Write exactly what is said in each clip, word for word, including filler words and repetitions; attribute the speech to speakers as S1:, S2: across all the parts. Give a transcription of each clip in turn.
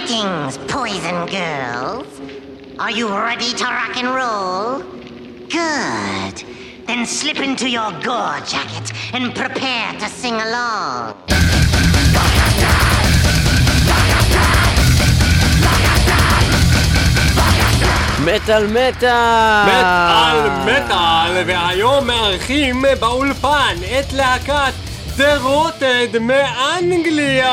S1: Greetings, poison girls. Are you ready to rock and roll? Good. Then slip into your gore jacket and prepare to sing along.
S2: מטל מטל!
S3: מטל מטל, והיום מארחים באולפן את להקת The Rotted מאנגליה!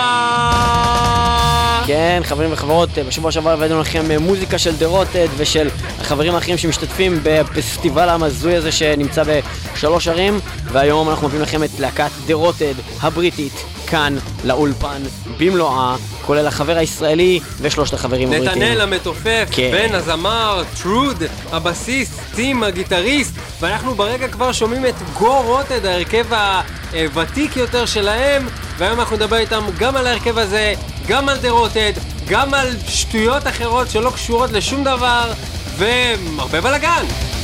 S2: כן, חברים וחברות, בשבוע שעבר הבאנו לכם מוזיקה של The Rotted ושל החברים האחרים שמשתתפים בפסטיבל המזוי הזה שנמצא בשלוש ערים, והיום אנחנו מביאים לכם את להקת The Rotted הבריטית כאן לאולפן במלואה, כולל החבר הישראלי ושלושת החברים הבריטים.
S3: נתנאל המתופף,
S2: כן.
S3: בן הזמר, טרוד, הבסיסט, טים הגיטריסט, ואנחנו ברגע כבר שומעים את גו רוטד, ההרכב הוותיק יותר שלהם, והיום אנחנו נדבר איתם גם על ההרכב הזה, גם על The Rotted, גם על שטויות אחרות שלא קשורות לשום דבר, והרבה בלגן.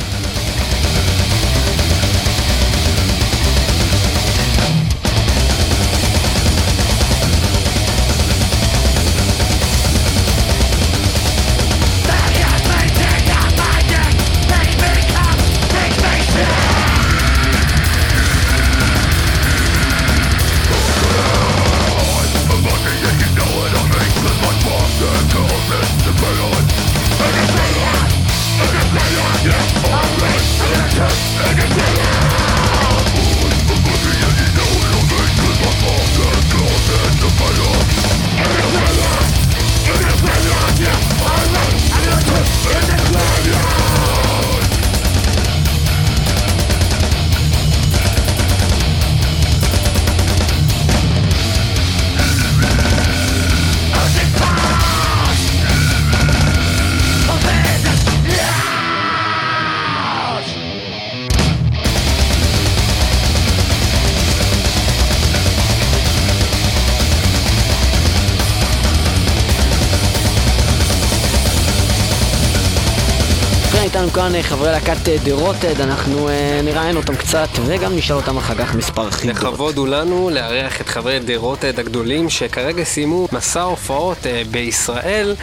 S2: איתנו כאן חברי להקת The Rotted, אנחנו נראיין אותם קצת וגם נשאל אותם אחר כך מספר חידות.
S3: לכבוד הוא לנו לארח את חברי The Rotted הגדולים שכרגע סיימו מסע הופעות בישראל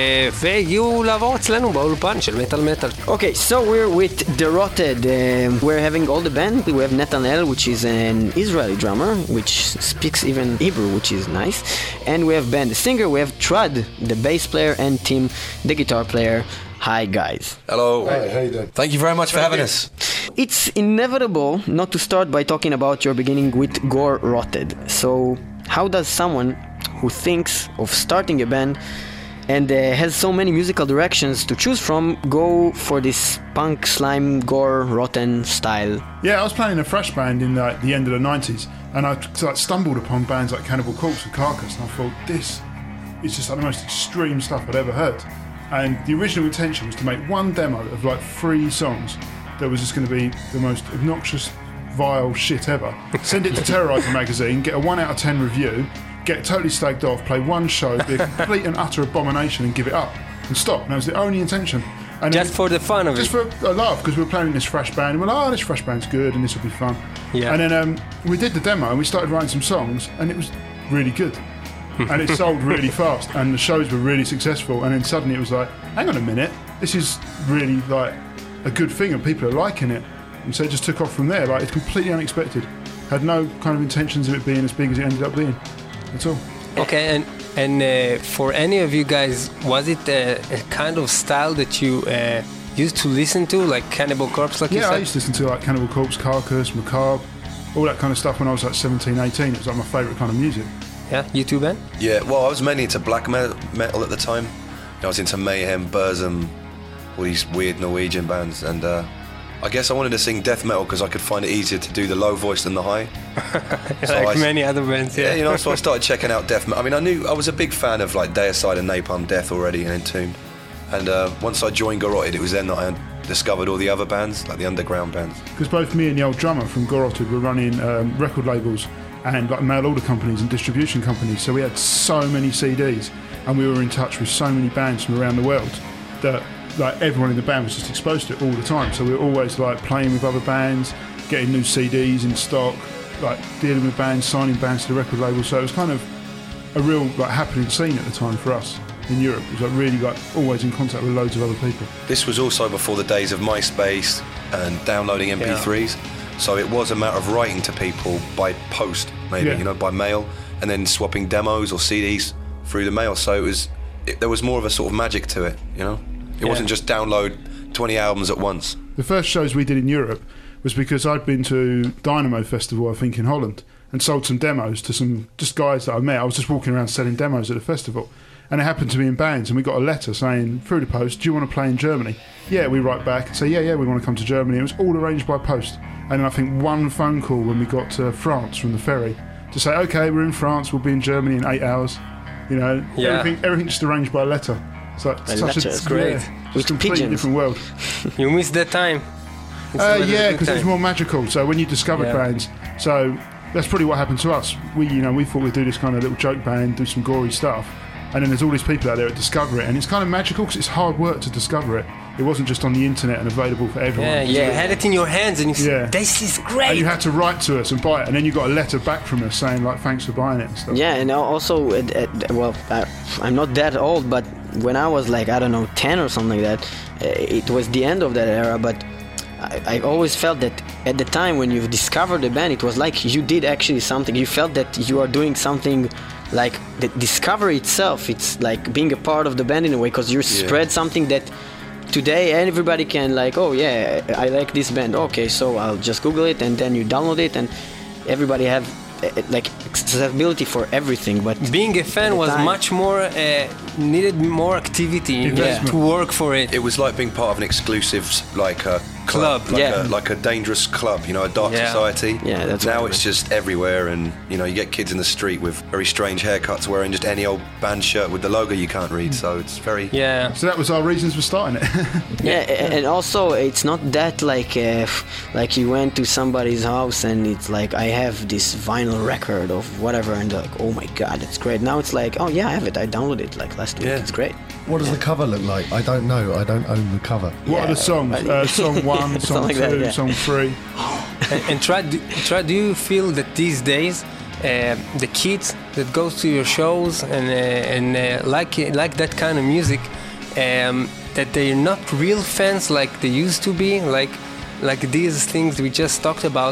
S3: והגיעו לעבור אצלנו באולפן של מטל מטל.
S2: Okay, so we're with The Rotted. Uh, we're having all the band. We have Netanel, which is an Israeli drummer, which speaks even Hebrew, which is nice. And we have Ben, the singer. We have Trud, the bass player, and Tim, the guitar player. Hi guys.
S4: Hello.
S5: Hey, how you doing?
S4: Thank you very much for having us.
S2: It's inevitable not to start by talking about your beginning with Gore Rotted. So, how does someone who thinks of starting a band and uh, has so many musical directions to choose from go for this punk, slime, gore, rotten style?
S5: Yeah, I was playing in a thrash band in like the end of the nineties, and I like, stumbled upon bands like Cannibal Corpse and Carcass, and I thought, this is just like the most extreme stuff I'd ever heard. And the original intention was to make one demo of like three songs that was just going to be the most obnoxious, vile shit ever. Send it to Terrorizer magazine, get a one out of ten review, get totally slagged off, play one show, be a complete and utter abomination and give it up and stop. And that was the only intention. And
S3: Just for the fun of
S5: just
S3: it.
S5: Just for a laugh, because we were playing in this thrash band and we're like, oh, this thrash band's good and this will be fun.
S3: Yeah.
S5: And then um, we did the demo and we started writing some songs and it was really good. And it sold really fast and the shows were really successful, and then suddenly it was like, hang on a minute, this is really like a good thing and people are liking it. And so it just took off from there. Like, it's completely unexpected. Had no kind of intentions of it being as big as it ended up being. That's all.
S3: Okay, and and uh, for any of you guys, was it a, a kind of style that you uh, used to listen to, like Cannibal Corpse, like
S5: yeah,
S3: you said?
S5: I used to listen to like Cannibal Corpse, Carcass, Macabre, all that kind of stuff when I was like seventeen, eighteen. It was like my favourite kind of music.
S3: Yeah, you too, Ben?
S4: Yeah, well, I was mainly into black me- metal at the time. I was into Mayhem, Burzum, all these weird Norwegian bands, and uh, I guess I wanted to sing death metal because I could find it easier to do the low voice than the high.
S3: So like I, many other bands, yeah.
S4: Yeah, you know, so I started checking out death metal. I mean, I knew I was a big fan of like Deicide and Napalm Death already and Entombed. And uh, once I joined Garroted, it was then that I discovered all the other bands, like the underground bands.
S5: Because both me and the old drummer from Garroted were running um, record labels and like mail order companies and distribution companies, so we had so many C Ds and we were in touch with so many bands from around the world that like everyone in the band was just exposed to it all the time. So we were always like playing with other bands, getting new C Ds in stock, like dealing with bands, signing bands to the record label. So it was kind of a real like happening scene at the time for us. in Europe. It was like really like always in contact with loads of other people.
S4: This was also before the days of MySpace and downloading M P threes. Yeah. So it was a matter of writing to people by post, maybe, yeah. you know, by mail, and then swapping demos or C Ds through the mail. So it was, it, there was more of a sort of magic to it, you know? It yeah. wasn't just download twenty albums at once.
S5: The first shows we did in Europe was because I'd been to Dynamo Festival, I think, in Holland, and sold some demos to some just guys that I met. I was just walking around selling demos at the festival, and it happened to be in bands, and we got a letter saying through the post, do you want to play in Germany? Yeah, we write back and say, yeah, yeah, we want to come to Germany. It was all arranged by post. And I think one phone call when we got to France from the ferry to say, okay, we're in France, we'll be in Germany in eight hours. You know,
S3: yeah.
S5: everything, everything just arranged by letter. It's like
S2: a
S5: such
S2: letter,
S5: a,
S2: it's great.
S5: Yeah,
S2: With
S5: a completely
S2: pigeons.
S5: different world.
S3: You missed that time.
S5: Uh, yeah, because it was more magical. So when you discovered
S3: yeah.
S5: bands, so that's probably what happened to us. We, you know, we thought we'd do this kind of little joke band, do some gory stuff, and then there's all these people out there that discover it, and it's kind of magical because it's hard work to discover it. It wasn't just on the internet and available for everyone.
S3: Yeah, you yeah. had it in your hands, and you said,
S5: yeah.
S3: "This is great."
S5: And you had to write to us and buy it, and then you got a letter back from us saying like, "Thanks for buying it" and stuff.
S2: Yeah, and also, uh, uh, well, uh, I'm not that old, but when I was like, I don't know, ten or something like that, uh, it was the end of that era, but I, I always felt that at the time when you discovered the band, it was like you did actually something. You felt that you are doing something, like the discovery itself. It's like being a part of the band in a way, because you yeah. spread something that today everybody can like, oh yeah, I like this band. Okay, so I'll just Google it, and then you download it, and everybody have uh, like accessibility for everything. But
S3: being a fan was time, much more uh, needed more activity yeah. to work for it.
S4: It was like being part of an exclusive like a club,
S3: club
S4: like,
S3: yeah.
S4: a, like a dangerous club, you know, a dark
S3: yeah.
S4: society.
S2: Yeah, that's
S4: now it's just everywhere, and you know, you get kids in the street with very strange haircuts wearing just any old band shirt with the logo you can't read. So it's very
S3: yeah.
S5: So that was our reasons for starting it.
S2: yeah, and also it's not that like uh, like you went to somebody's house and it's like, I have this vinyl record of whatever, and they're like, oh my god, it's great. Now it's like, oh yeah, I have it. I downloaded it like last week.
S4: Yeah.
S2: It's great.
S6: What does the cover look like? I don't know. I don't own the cover.
S5: What
S2: yeah,
S5: are the songs? Uh, song one, song
S2: like
S5: two,
S2: that, yeah.
S5: song three.
S3: and, and try, do, try, do you feel that these days uh, the kids that goes to your shows and uh, and uh, like like that kind of music, um, that they're not real fans like they used to be, like like these things we just talked about?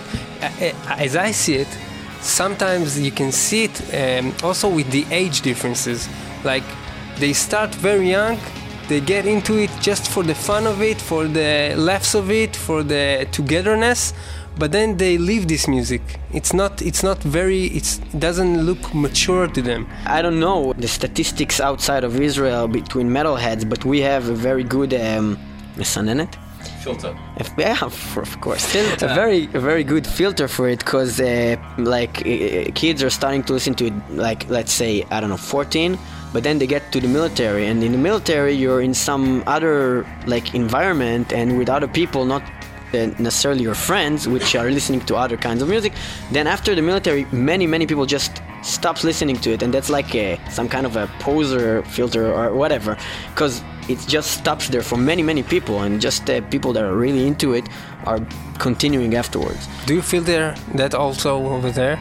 S3: As I see it, sometimes you can see it um, also with the age differences. Like they start very young, they get into it just for the fun of it, for the laughs of it, for the togetherness, but then they leave this music. It's not it's not very it's, it doesn't look mature to them.
S2: I don't know the statistics outside of Israel between metalheads, but we have a very good um, מסננת?
S7: Filter.
S2: Yeah, of course. Filter. A very, a very good filter for it, because uh, like uh, kids are starting to listen to it, like let's say, I don't know, fourteen, but then they get to the military, and in the military you're in some other like environment and with other people, not uh, necessarily your friends, which are listening to other kinds of music. Then after the military, many, many people just stops listening to it, and that's like a, some kind of a poser filter or whatever, because it just stops there for many, many people, and just uh, people that are really into it are continuing afterwards.
S3: Do you feel there that also over there?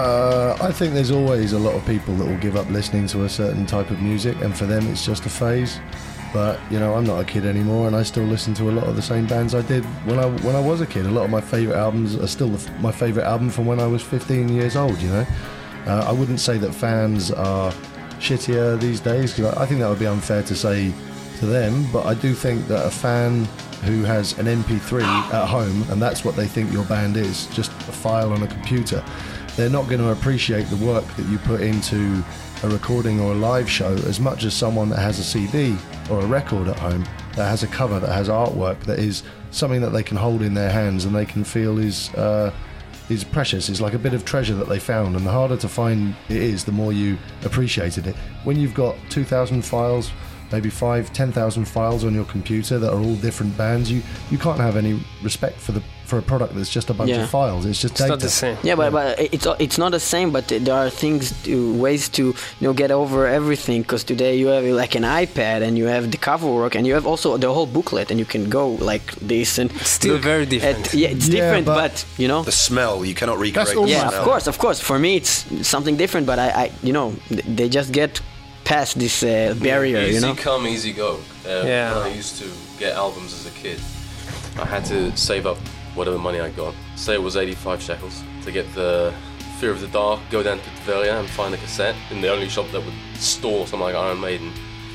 S6: Uh, I think there's always a lot of people that will give up listening to a certain type of music, and for them it's just a phase. But you know, I'm not a kid anymore, and I still listen to a lot of the same bands I did when I when I was a kid. A lot of my favourite albums are still the, my favourite album from when I was fifteen years old. You know, uh, I wouldn't say that fans are shittier these days, because I, I think that would be unfair to say to them, but I do think that a fan who has an M P three at home, and that's what they think your band is, just a file on a computer, they're not going to appreciate the work that you put into a recording or a live show as much as someone that has a C D or a record at home that has a cover, that has artwork, that is something that they can hold in their hands and they can feel is uh, is precious. It's like a bit of treasure that they found, and the harder to find it is, the more you appreciated it. When you've got two thousand files, maybe five, ten thousand files on your computer that are all different bands, you, you can't have any respect for the for a product that's just a bunch
S2: yeah.
S6: of files. It's just
S3: it's
S6: data.
S3: Not the same.
S2: Yeah, but, but it's it's not the same. But there are things, to, ways to you know get over everything. Because today you have like an iPad, and you have the cover work, and you have also the whole booklet, and you can go like this and
S3: it's still very different.
S2: At, yeah, it's
S6: yeah,
S2: different,
S6: but,
S2: but you know
S4: the smell you cannot recreate.
S5: That's
S4: the
S2: yeah,
S4: smell.
S2: of course, of course. For me, it's something different. But I, I you know, they just get pass this uh, barrier,
S7: easy
S2: you know?
S7: come, easy go. Uh,
S3: Yeah.
S7: When I used to get albums as a kid, I had to save up whatever money I got. Say it was eighty-five shekels to get the Fear of the Dark, go down to Tveria and find a cassette in the only shop that would store something like Iron Maiden.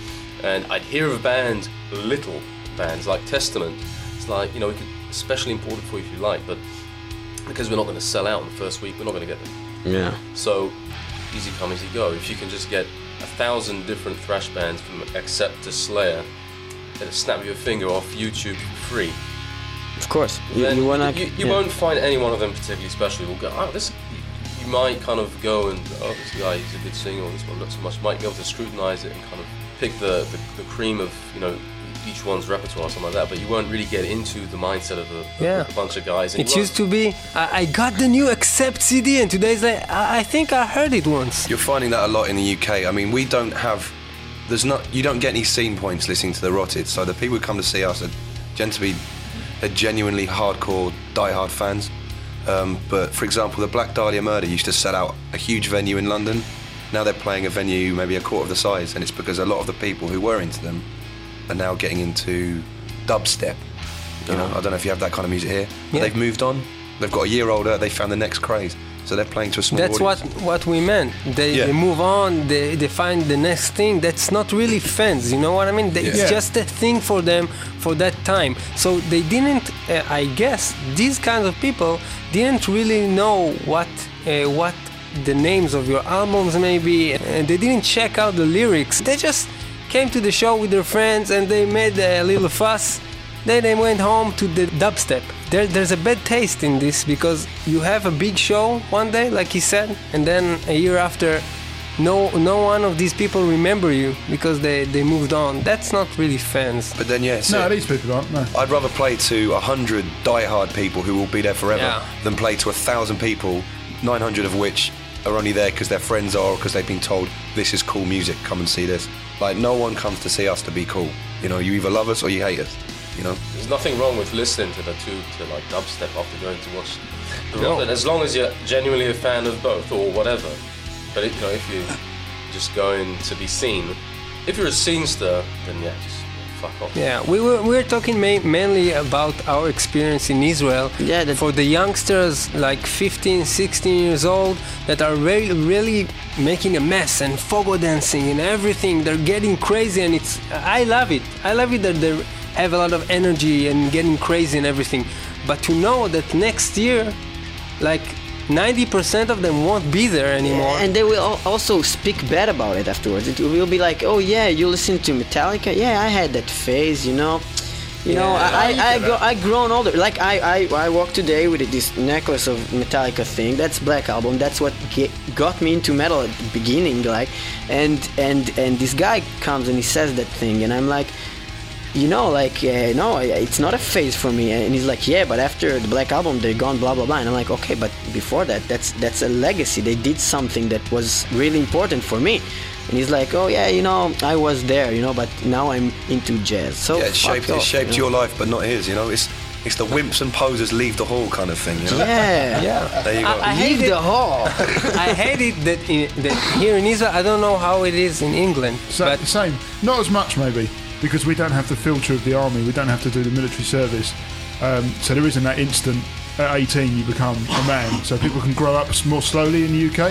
S7: And I'd hear of bands, little bands like Testament. It's like, you know, we could especially import it for you if you like, but because we're not going to sell out in the first week, we're not going to get them.
S2: Yeah.
S7: So, easy come, easy go. If you can just get a thousand different thrash bands from Accept to Slayer at a snap of your finger off YouTube for free,
S2: Of course. You,
S7: then
S2: you wanna...
S7: you, you
S2: yeah.
S7: won't find any one of them particularly special. You'll go, oh, this. You might kind of go and, oh, this guy, he's a good singer, or this one not so much. You might be able to scrutinize it and kind of pick the, the, the cream of, you know, each one's repertoire or something like that, but you won't really get into the mindset of a,
S3: Yeah.
S7: a bunch of guys. And
S3: It
S7: you
S3: used to be, I, I got the new Accept C D, and today's like, I, I think I heard it once.
S4: You're finding that a lot in the U K. I mean, we don't have, there's not, you don't get any scene points listening to the Rotted. So the people who come to see us are tend to be, they're genuinely hardcore, die-hard fans. Um, but for example, the Black Dahlia Murder used to sell out a huge venue in London. Now they're playing a venue maybe a quarter of the size, and it's because a lot of the people who were into them are now getting into dubstep. You know, I don't know if you have that kind of music here. But
S3: Yeah.
S4: they've moved on. They've got a year older. They found the next craze, so they're playing to a small
S3: That's what,
S4: audience.
S3: what we meant. They,
S4: Yeah.
S3: they move on, they, they find the next thing. That's not really fans, you know what I mean? They, It's
S5: Yeah.
S3: just a thing for them for that time. So they didn't, uh, I guess, these kinds of people didn't really know what uh, what the names of your albums maybe, and they didn't check out the lyrics. They just came to the show with their friends and they made a little fuss. Then they went home to the dubstep. There, there's a bad taste in this because you have a big show one day, like he said, and then a year after, no, no one of these people remember you because they, they moved on. That's not really fans.
S4: But then, yeah, it's
S5: No,
S4: it.
S5: these people aren't. No.
S4: I'd rather play to a hundred die-hard people who will be there forever
S3: Yeah.
S4: than play to a thousand people, nine hundred of which are only there because their friends are or because they've been told this is cool music, come and see this. Like, no one comes to see us to be cool. You know, you either love us or you hate us. You know.
S7: There's nothing wrong with listening to the two to like dubstep after going to watch the
S3: No.
S7: Rotted, as long as you're genuinely a fan of both or whatever. But it, you know, if you're just going to be seen, if you're a scenester, then yeah, just fuck off.
S3: Yeah, we were we were talking ma- mainly about our experience in Israel.
S2: Yeah, that-
S3: for the youngsters like fifteen, sixteen years old that are really, really making a mess and fogo dancing and everything. They're getting crazy, and it's I love it. I love it that they have a lot of energy and getting crazy and everything. But to know that next year, like ninety percent of them won't be there anymore.
S2: And they will al- also speak bad about it afterwards. It will be like, oh yeah, you listen to Metallica? Yeah, I had that phase, you know. You know,
S3: Yeah.
S2: I I, I, go, I grown older. Like I, I I walk today with this necklace of Metallica thing. That's Black Album. That's what get, got me into metal at the beginning. Like, and and and this guy comes and he says that thing, and I'm like, you know, like, uh, no, it's not a phase for me. And he's like, yeah, but after the Black Album, they're gone, blah, blah, blah. And I'm like, okay, but before that, that's that's a legacy. They did something that was really important for me. And he's like, oh, yeah, you know, I was there, you know, but now I'm into jazz. So
S4: Yeah, it
S2: fuck
S4: shaped,
S2: off,
S4: it shaped
S2: you know?
S4: your life, but not his. You know, it's it's the wimps and posers leave the hall kind of thing. You know.
S2: Yeah.
S3: Yeah.
S4: There you go.
S3: I, I hate
S2: Leave
S3: it.
S2: the hall.
S3: I hate it that, in, that here in Israel, I don't know how it is in England,
S5: So,
S3: but
S5: same. Not as much, maybe, because we don't have the filter of the army. We don't have to do the military service. Um, so there isn't that instant, at eighteen, you become a man. So people can grow up s- more slowly in the U K.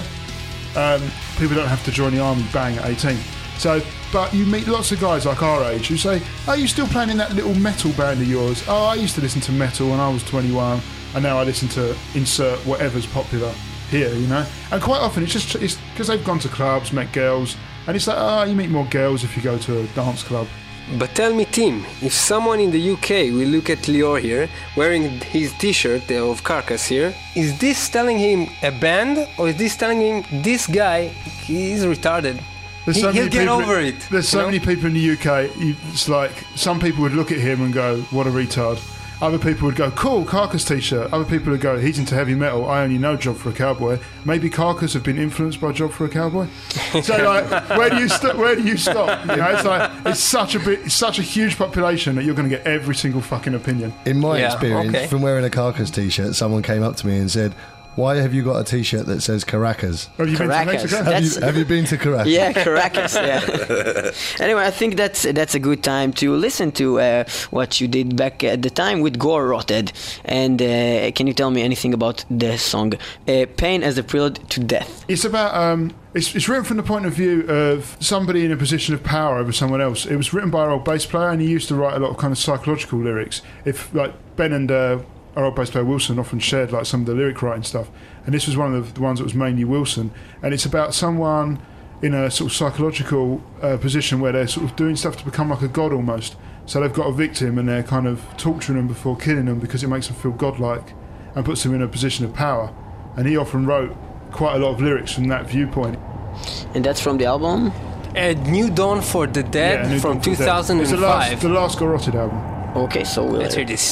S5: Um, people don't have to join the army bang at eighteen. So, but you meet lots of guys like our age who say, "Are you still playing in that little metal band of yours? Oh, I used to listen to metal when I was twenty-one, and now I listen to insert whatever's popular here." You know, and quite often it's just it's because they've gone to clubs, met girls, and it's like, oh, you meet more girls if you go to a dance club.
S3: But tell me, Tim, if someone in the U K will look at Lior here, wearing his t-shirt of Carcass here, is this telling him a band, or is this telling him this guy, he's retarded?
S5: There's
S3: He,
S5: so
S3: he'll
S5: many
S3: get
S5: people-
S3: over it.
S5: There's so
S3: you know?
S5: many people in the U K. You, it's like some people would look at him and go, "What a retard." Other people would go, "Cool, Carcass t-shirt." Other people would go, "He's into heavy metal. I only know Job for a Cowboy." Maybe Carcass have been influenced by Job for a Cowboy. So, like, where do you st- where do you stop? You know, it's like it's such a bit, it's such a huge population that you're going to get every single fucking opinion.
S6: In my
S3: Yeah,
S6: experience,
S3: okay.
S6: from wearing a Carcass t-shirt, someone came up to me and said, Why have you got a T-shirt that says Caracas?
S5: Have you
S2: Caracas.
S5: been to Mexico?
S6: Have you,
S2: That's-
S6: have you been to Caracas?
S2: Yeah, Caracas. Yeah. Anyway, I think that's that's a good time to listen to uh, what you did back at the time with Gore Rotted. And uh, can you tell me anything about the song uh, "Pain as a Prelude to Death"?
S5: It's about um, it's, it's written from the point of view of somebody in a position of power over someone else. It was written by our old bass player, and he used to write a lot of kind of psychological lyrics. If like Ben and uh, our old bass player Wilson often shared like some of the lyric writing stuff, and this was one of the, the ones that was mainly Wilson. And it's about someone in a sort of psychological uh, position where they're sort of doing stuff to become like a god almost. So they've got a victim and they're kind of torturing them before killing them because it makes them feel godlike and puts them in a position of power. And he often wrote quite a lot of lyrics from that viewpoint.
S2: And that's from the album.
S3: A New Dawn for the Dead
S5: New
S3: from
S5: Dawn for
S3: two
S5: the Dead.
S3: thousand
S5: It's the last,
S3: five.
S5: the last Garroted album.
S2: Okay, so we'll
S3: Let's hear this.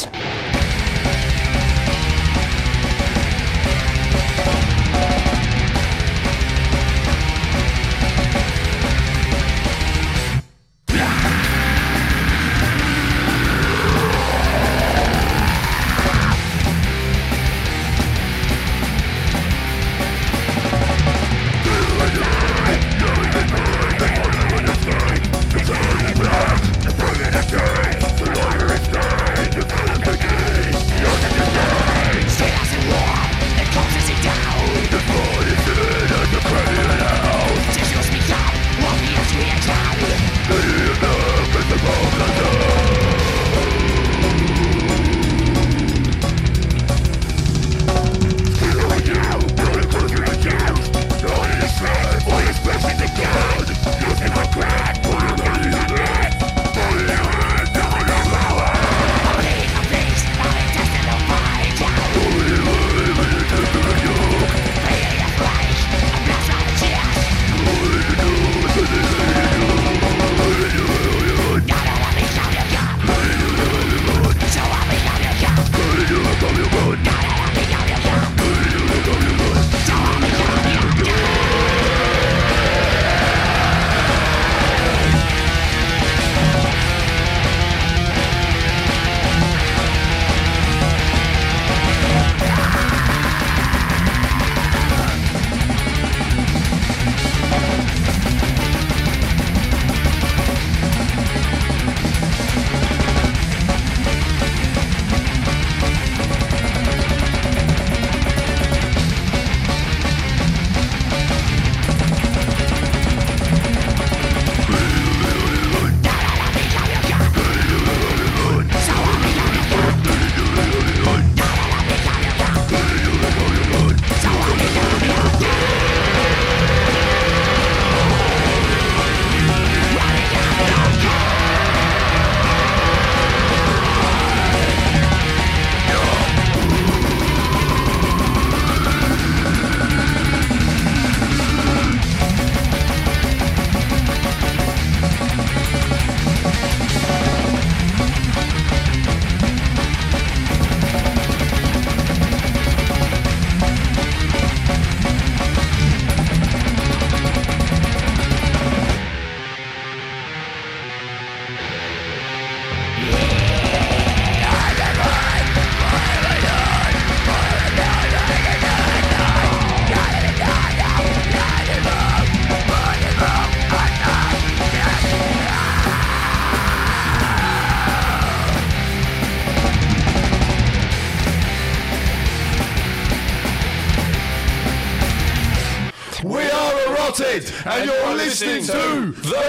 S8: Rotted, and you're listening to The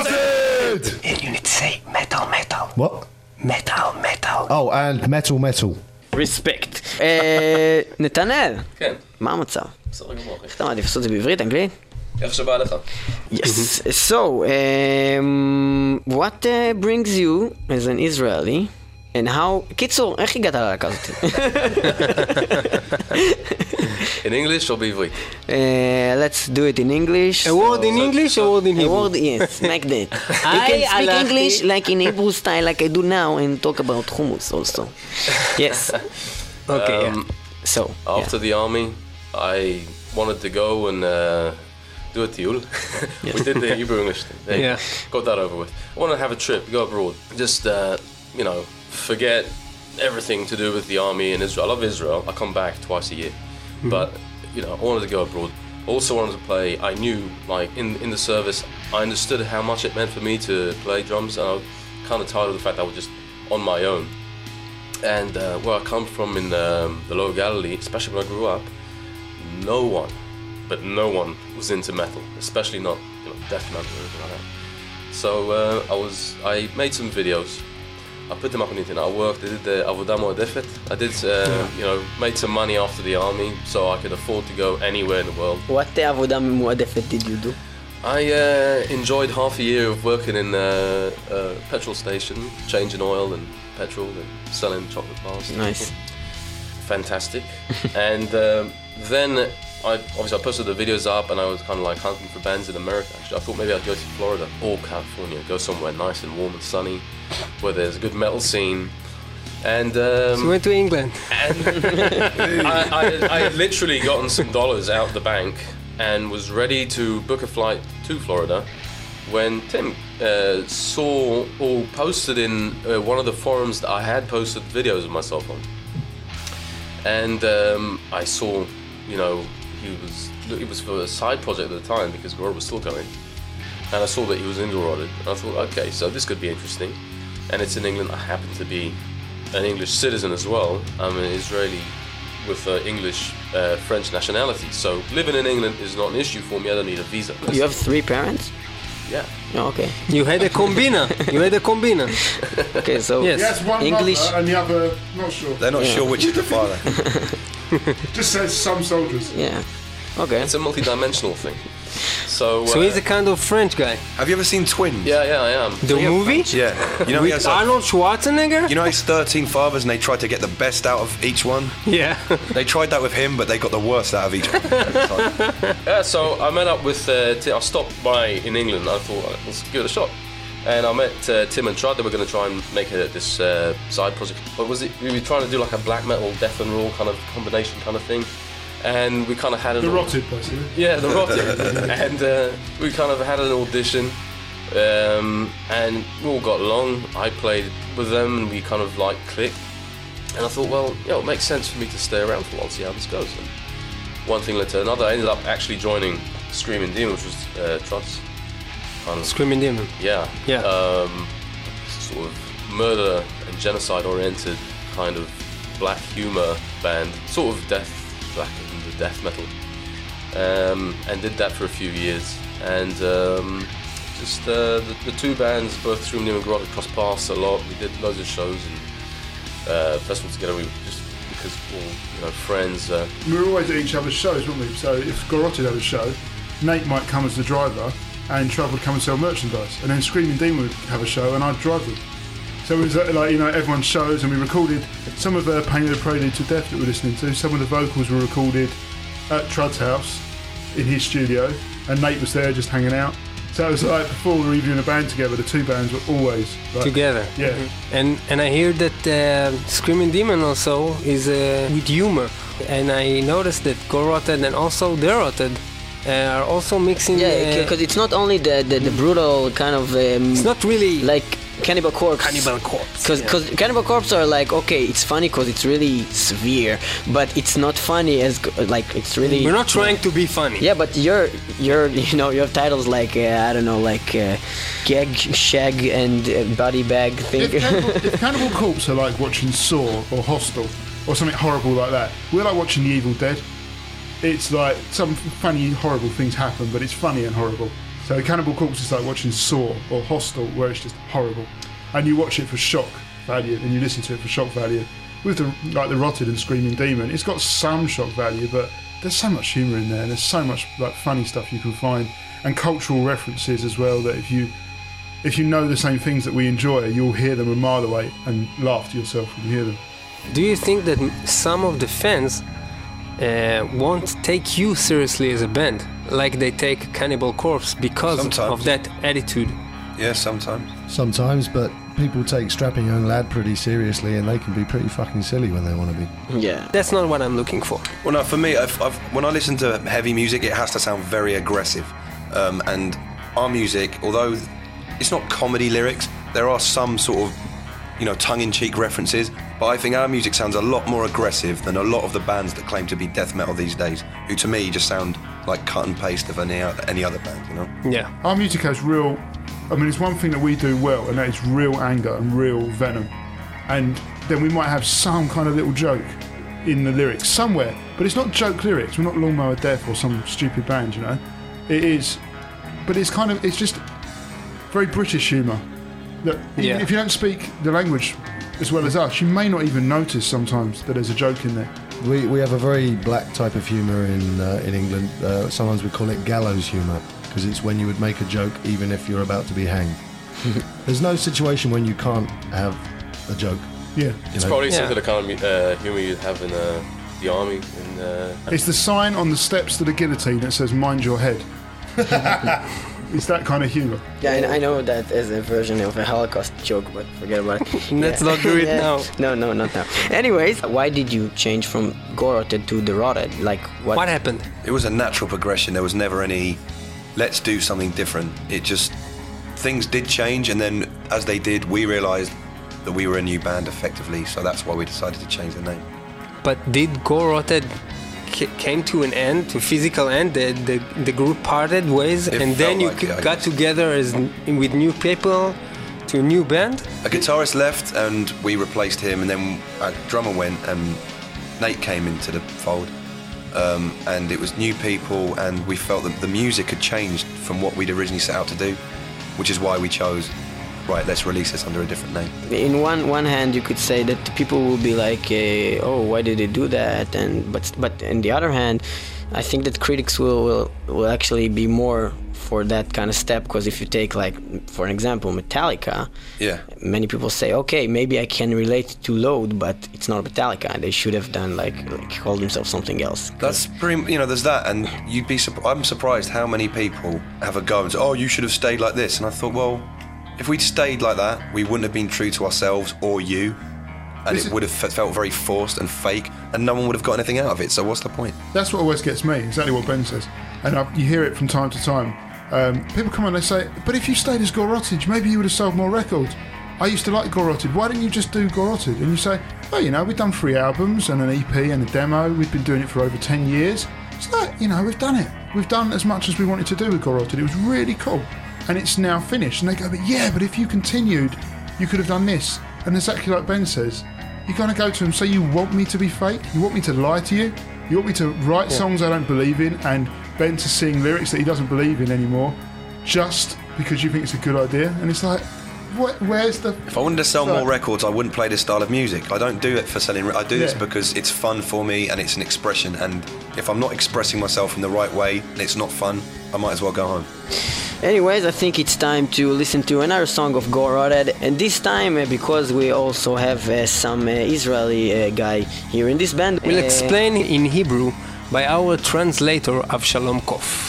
S8: Rotted!
S1: You need to say metal, metal.
S6: What?
S1: Metal, metal.
S6: Oh, and metal, metal.
S2: ריספקט. אה, נתנאל,
S7: כן,
S2: מה המצב?
S7: בסדר גמור, אחי.
S2: איך אתה מעדיף לעשות את זה בעברית, אנגלית?
S7: איך שבא לך?
S2: Yes. So, um, what uh, brings you as an Israeli, and how... קיצור, איך הגעת ללהקה הזאת?
S7: In English או בעברית?
S2: Uh, let's do it in English.
S3: A word in English, a word in
S2: A
S3: Hebrew.
S2: word, yes, like that. You
S3: I
S2: can speak
S3: הלכתי-
S2: English like in Hebrew style, like I do now, and talk about hummus also. Yes. Okay, yeah.
S7: Um,
S2: So,
S7: After the army, I wanted to go and uh, do a tiyul. We did the Hebrew English thing. There you
S3: Yeah.
S7: go. Got that over with. I want to have a trip, go abroad. Just, uh, you know, forget everything to do with the army in Israel. I love Israel. I come back twice a year. But you know, I wanted to go abroad. Also wanted to play. I knew, like in in the service, I understood how much it meant for me to play drums, and I was kind of tired of the fact that I was just on my own. And uh, where I come from in um, the Lower Galilee, especially when I grew up, no one, but no one was into metal, especially not you know death metal or anything like that. So uh, I was, I made some videos. I put them up on the internet. I worked, I did the Avoda Muadefet. I did, uh, you know, made some money after the army so I could afford to go anywhere in the world.
S2: What the עבודה מועדפת did you do?
S7: I uh, enjoyed half a year of working in a, a petrol station, changing oil and petrol and selling chocolate bars.
S2: Nice.
S7: Fantastic. And um, then I obviously I posted the videos up and I was kind of like hunting for bands in America. Actually, I thought maybe I'd go to Florida or California, go somewhere nice and warm and sunny, where there's a good metal scene. And um,
S3: So we went to England.
S7: and I, I, I had literally gotten some dollars out the bank and was ready to book a flight to Florida when Tim uh, saw or posted in uh, one of the forums that I had posted videos of myself on. And um, I saw, you know, he was, it was for a side project at the time because Gorod was still going. And I saw that he was Engelrodded. And I thought, okay, so this could be interesting. And it's in England. I happen to be an English citizen as well. I'm an Israeli with uh, English uh, French nationality. So living in England is not an issue for me. I don't need a visa.
S2: You have three parents?
S7: Yeah.
S2: Oh, okay.
S3: You had a combina. You had a combina.
S2: Okay, so
S3: Yes.
S5: He has one
S2: English.
S5: mother and the other, not sure.
S4: They're not
S2: Yeah.
S4: sure which is the father.
S5: Just says some soldiers.
S2: Yeah. Okay.
S7: It's a multi-dimensional thing. So,
S3: So
S7: uh,
S3: he's a kind of French guy.
S4: Have you ever seen Twins?
S7: yeah, yeah, I am.
S3: The movie?
S4: Yeah. You know, he has
S3: With
S4: like,
S3: Arnold Schwarzenegger?
S4: you know, he's thirteen fathers and they tried to get the best out of each one.
S3: Yeah.
S4: They tried that with him, but they got the worst out of each one.
S7: Yeah, so I met up with uh, Tim. I stopped by in England. I thought, uh, let's give it a shot. And I met uh, Tim and Trud. They were going to try and make a, this uh, side project. What was it? We were trying to do like a black metal, death and raw kind of combination kind of thing. And we kind of had an
S5: The Rotted, basically.
S7: Yeah, the Rotted. And uh, we kind of had an audition, um, and we all got along. I played with them, and we kind of like clicked. And I thought, well, you know, it makes sense for me to stay around for a while, see how this goes. And one thing led to another. I ended up actually joining Screaming Demon, which was uh, Trud's kind of
S3: Screaming Demon.
S7: yeah,
S3: Yeah.
S7: um, sort of murder and genocide-oriented kind of black humor band, sort of death, black and death metal, um, and did that for a few years. And um, just uh, the, the two bands, both Screaming Demon and Gorod, crossed paths a lot. We did loads of shows and uh, festivals together. We just because we're all you know friends. Uh,
S5: We were always at each other's shows, weren't we? So if Gorotted had a show, Nate might come as the driver and Trav would come and sell merchandise. And then Screaming Demon would have a show and I'd drive them. So it was uh, like, you know, everyone's shows, and we recorded some of the Painted a Prelude to Death that we're listening to. Some of the vocals were recorded at Trud's house in his studio, and Nate was there just hanging out. So it was like before we were even in a band together, the two bands were always like,
S3: Together.
S5: Yeah.
S3: And and I hear that uh, Screaming Demon also is uh, with humor. And I noticed that Go Rotted and also The Rotted uh, are also mixing.
S2: Yeah,
S3: uh,
S2: because it's not only the, the, the brutal kind of um,
S3: it's not really
S2: like Cannibal Corpse.
S3: Cannibal Corpse.
S2: Because
S3: yeah.
S2: Cannibal Corpse are like, okay, it's funny because it's really severe, but it's not funny as go- like it's really.
S3: We're not trying to be funny.
S2: Yeah, but you're you're you know you have titles like uh, I don't know like uh, Gag, Shag, and uh, Body Bag thing.
S5: If Cannibal, if Cannibal Corpse are like watching Saw or Hostel or something horrible like that, we're like watching The Evil Dead. It's like some funny, horrible things happen, but it's funny and horrible. So Cannibal Corpse is like watching Saw or Hostel, where it's just horrible, and you watch it for shock value, and you listen to it for shock value. With the like the Rotted and Screaming Demon, it's got some shock value, but there's so much humour in there, and there's so much like funny stuff you can find, and cultural references as well. That if you if you know the same things that we enjoy, you'll hear them a mile away and laugh to yourself when you hear them.
S3: Do you think that m- some of the fans uh, won't take you seriously as a band, like they take Cannibal Corpse because
S4: Sometimes.
S3: of that attitude?
S4: Yeah, sometimes.
S6: Sometimes, but people take Strapping Young Lad pretty seriously, and they can be pretty fucking silly when they want to be.
S2: Yeah.
S3: That's not what I'm looking for.
S4: Well, no, for me, I've, I've, when I listen to heavy music, it has to sound very aggressive. Um, and our music, although it's not comedy lyrics, there are some sort of, you know, tongue-in-cheek references, But I think our music sounds a lot more aggressive than a lot of the bands that claim to be death metal these days, who to me just sound like cut and paste of any, any other band, you know?
S3: Yeah.
S5: Our music has real, I mean, it's one thing that we do well, and that is real anger and real venom. And then we might have some kind of little joke in the lyrics somewhere, but it's not joke lyrics. We're not Lawnmower Death or some stupid band, you know? It is, but it's kind of, it's just very British humour. That even
S3: Yeah.
S5: if you don't speak the language as well as us, you may not even notice sometimes that there's a joke in there.
S6: We we have a very black type of humour in uh, in England. Uh, sometimes we call it gallows humour, because it's when you would make a joke even if you're about to be hanged. There's no situation when you can't have a joke.
S5: Yeah.
S7: It's
S6: know?
S7: probably
S3: Yeah.
S7: similar to the kind of uh, humour you'd have in uh, the army. In, uh,
S5: It's the sign on the steps to the guillotine that says "Mind your head." It's that kind of humour.
S2: Yeah, and I know that as a version of a Holocaust joke, but forget about it.
S3: Let's not do it now.
S2: No, no, not now. Anyways, why did you change from Goroted to The Rotted? Like, what?
S3: What happened?
S4: It was a natural progression. There was never any, let's do something different. It just, things did change, and then as they did, we realised that we were a new band effectively, so that's why we decided to change the name.
S3: But did Go Rotted c- came to an end, to physical end? The the, the group parted ways,
S4: It
S3: and
S4: felt
S3: then you
S4: like
S3: c-
S4: it, I
S3: got
S4: guess.
S3: together as n- with new people to a new band.
S4: A guitarist left, and we replaced him, and then a drummer went, and Nate came into the fold. Um, and it was new people, and we felt that the music had changed from what we'd originally set out to do, which is why we chose, right, let's release this under a different name.
S2: In one one hand, you could say that people will be like, eh, "Oh, why did they do that?" And but but on the other hand, I think that critics will will, will actually be more for that kind of step, because if you take, like, for an example, Metallica,
S4: Yeah.
S2: many people say, okay, maybe I can relate to Load, but it's not Metallica. They should have done like, like call themselves something else.
S4: That's pretty, you know, there's that, and you'd be, surp- I'm surprised how many people have a go and say, oh, you should have stayed like this. And I thought, well, if we'd stayed like that, we wouldn't have been true to ourselves or you, and
S5: This
S4: it
S5: is-
S4: would have fe- felt very forced and fake, and no one would have got anything out of it, so what's the point?
S5: That's what always gets me, exactly what Ben says. And I, you hear it from time to time. Um, people come on, they say, but if you stayed as Goroted, maybe you would have sold more records. I used to like Goroted, why didn't you just do Goroted? And you say, well, you know, we've done three albums and an E P and a demo. We've been doing it for over ten years. So, you know, we've done it. We've done as much as we wanted to do with Goroted. It was really cool. And it's now finished. And they go, but yeah, but if you continued, you could have done this. And exactly like Ben says, you're going to go to him, say, you want me to be fake? You want me to lie to you? You want me to write songs I don't believe in, and Ben to sing lyrics that he doesn't believe in anymore, just because you think it's a good idea? And it's like, what, where's the...
S4: If I wanted to sell more records, I wouldn't play this style of music. I don't do it for selling. Re- I do this
S5: Yeah.
S4: because it's fun for me and it's an expression. And if I'm not expressing myself in the right way and it's not fun, I might as well go home.
S2: Anyways, I think it's time to listen to another song of Go Rotted, and this time uh, because we also have uh, some uh, Israeli uh, guy here in this band.
S3: We'll
S2: uh,
S3: explain in Hebrew by our translator Avshalom Kof.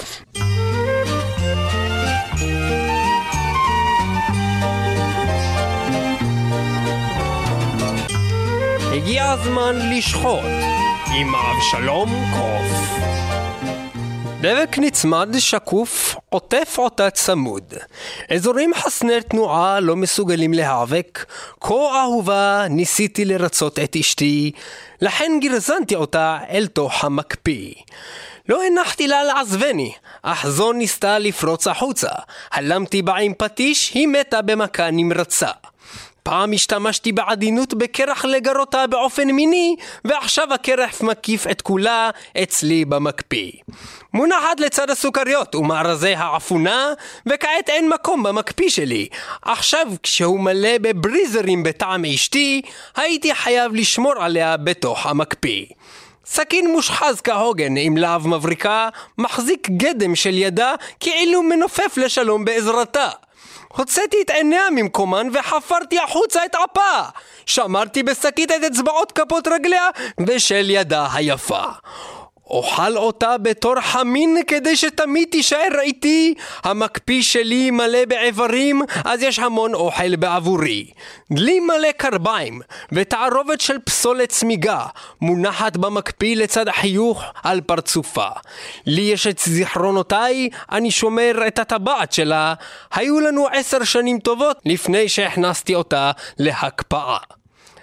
S3: הגיע הזמן לשחוט עם אבשלום קוף. דבק נצמד שקוף, עוטף אותה צמוד. אזורים חסני תנועה לא מסוגלים להיאבק. כה אהובה ניסיתי לרצות את אשתי, לכן גרזנתי אותה אל תוך המקפיא. לא הנחתי לה לעזבני, אך זו ניסתה לפרוץ החוצה. הלמתי בה עם פטיש, היא מתה במכה נמרצה. פעם השתמשתי בעדינות בקרח לגרותה באופן מיני, ועכשיו הקרח מקיף את כולה אצלי במקפיא. מונחת לצד הסוכריות ומארזי העפונה, וכעת אין מקום במקפיא שלי. עכשיו כשהוא מלא בבריזרים בטעם אשתי, הייתי חייב לשמור עליה בתוך המקפיא. סכין מושחז כהוגן עם להב מבריקה, מחזיק גדם של ידה כאילו מנופף לשלום בעזרתה. הוצאתי את עיניה ממקומן וחפרתי החוצה את אפה. שמרתי בשקית את אצבעות כפות רגליה ושל ידה היפה. אוכל אותה בתור חמין כדי שתמיד תישאר איתי. המקפיא שלי מלא בעברים, אז יש המון אוכל בעבורי. דלי מלא קרביים ותערובת של פסולת צמיגה מונחת במקפיא לצד חיוך על פרצופה. לי יש את זיכרונותיי, אני שומר את הטבעת שלה. היו לנו עשר שנים טובות לפני שהכנסתי אותה להקפאה.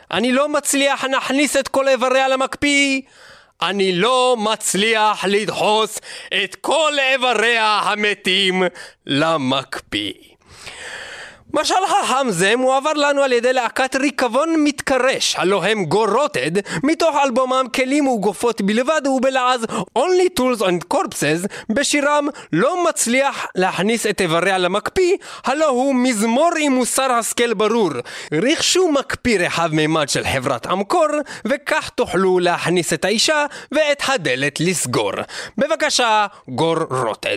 S3: אני לא מצליח להכניס את כל איבריה למקפיא. אני לא מצליח לדחוס את כל איבריה המתים למקפיא. משל חכם זה מועבר לנו על ידי להקת ריקבון מתקרש, הלא הם גורוטד, מתוך אלבומם כלים וגופות בלבד ובלעז Only Tools and Corpses, בשירם לא מצליח להכניס את איבריה למקפיא, הלא הוא מזמור עם מוסר השכל ברור. רכשו מקפיא רחב מימד של חברת אמקור, וכך תוכלו להכניס את האישה ואת הדלת לסגור. בבקשה, גורוטד.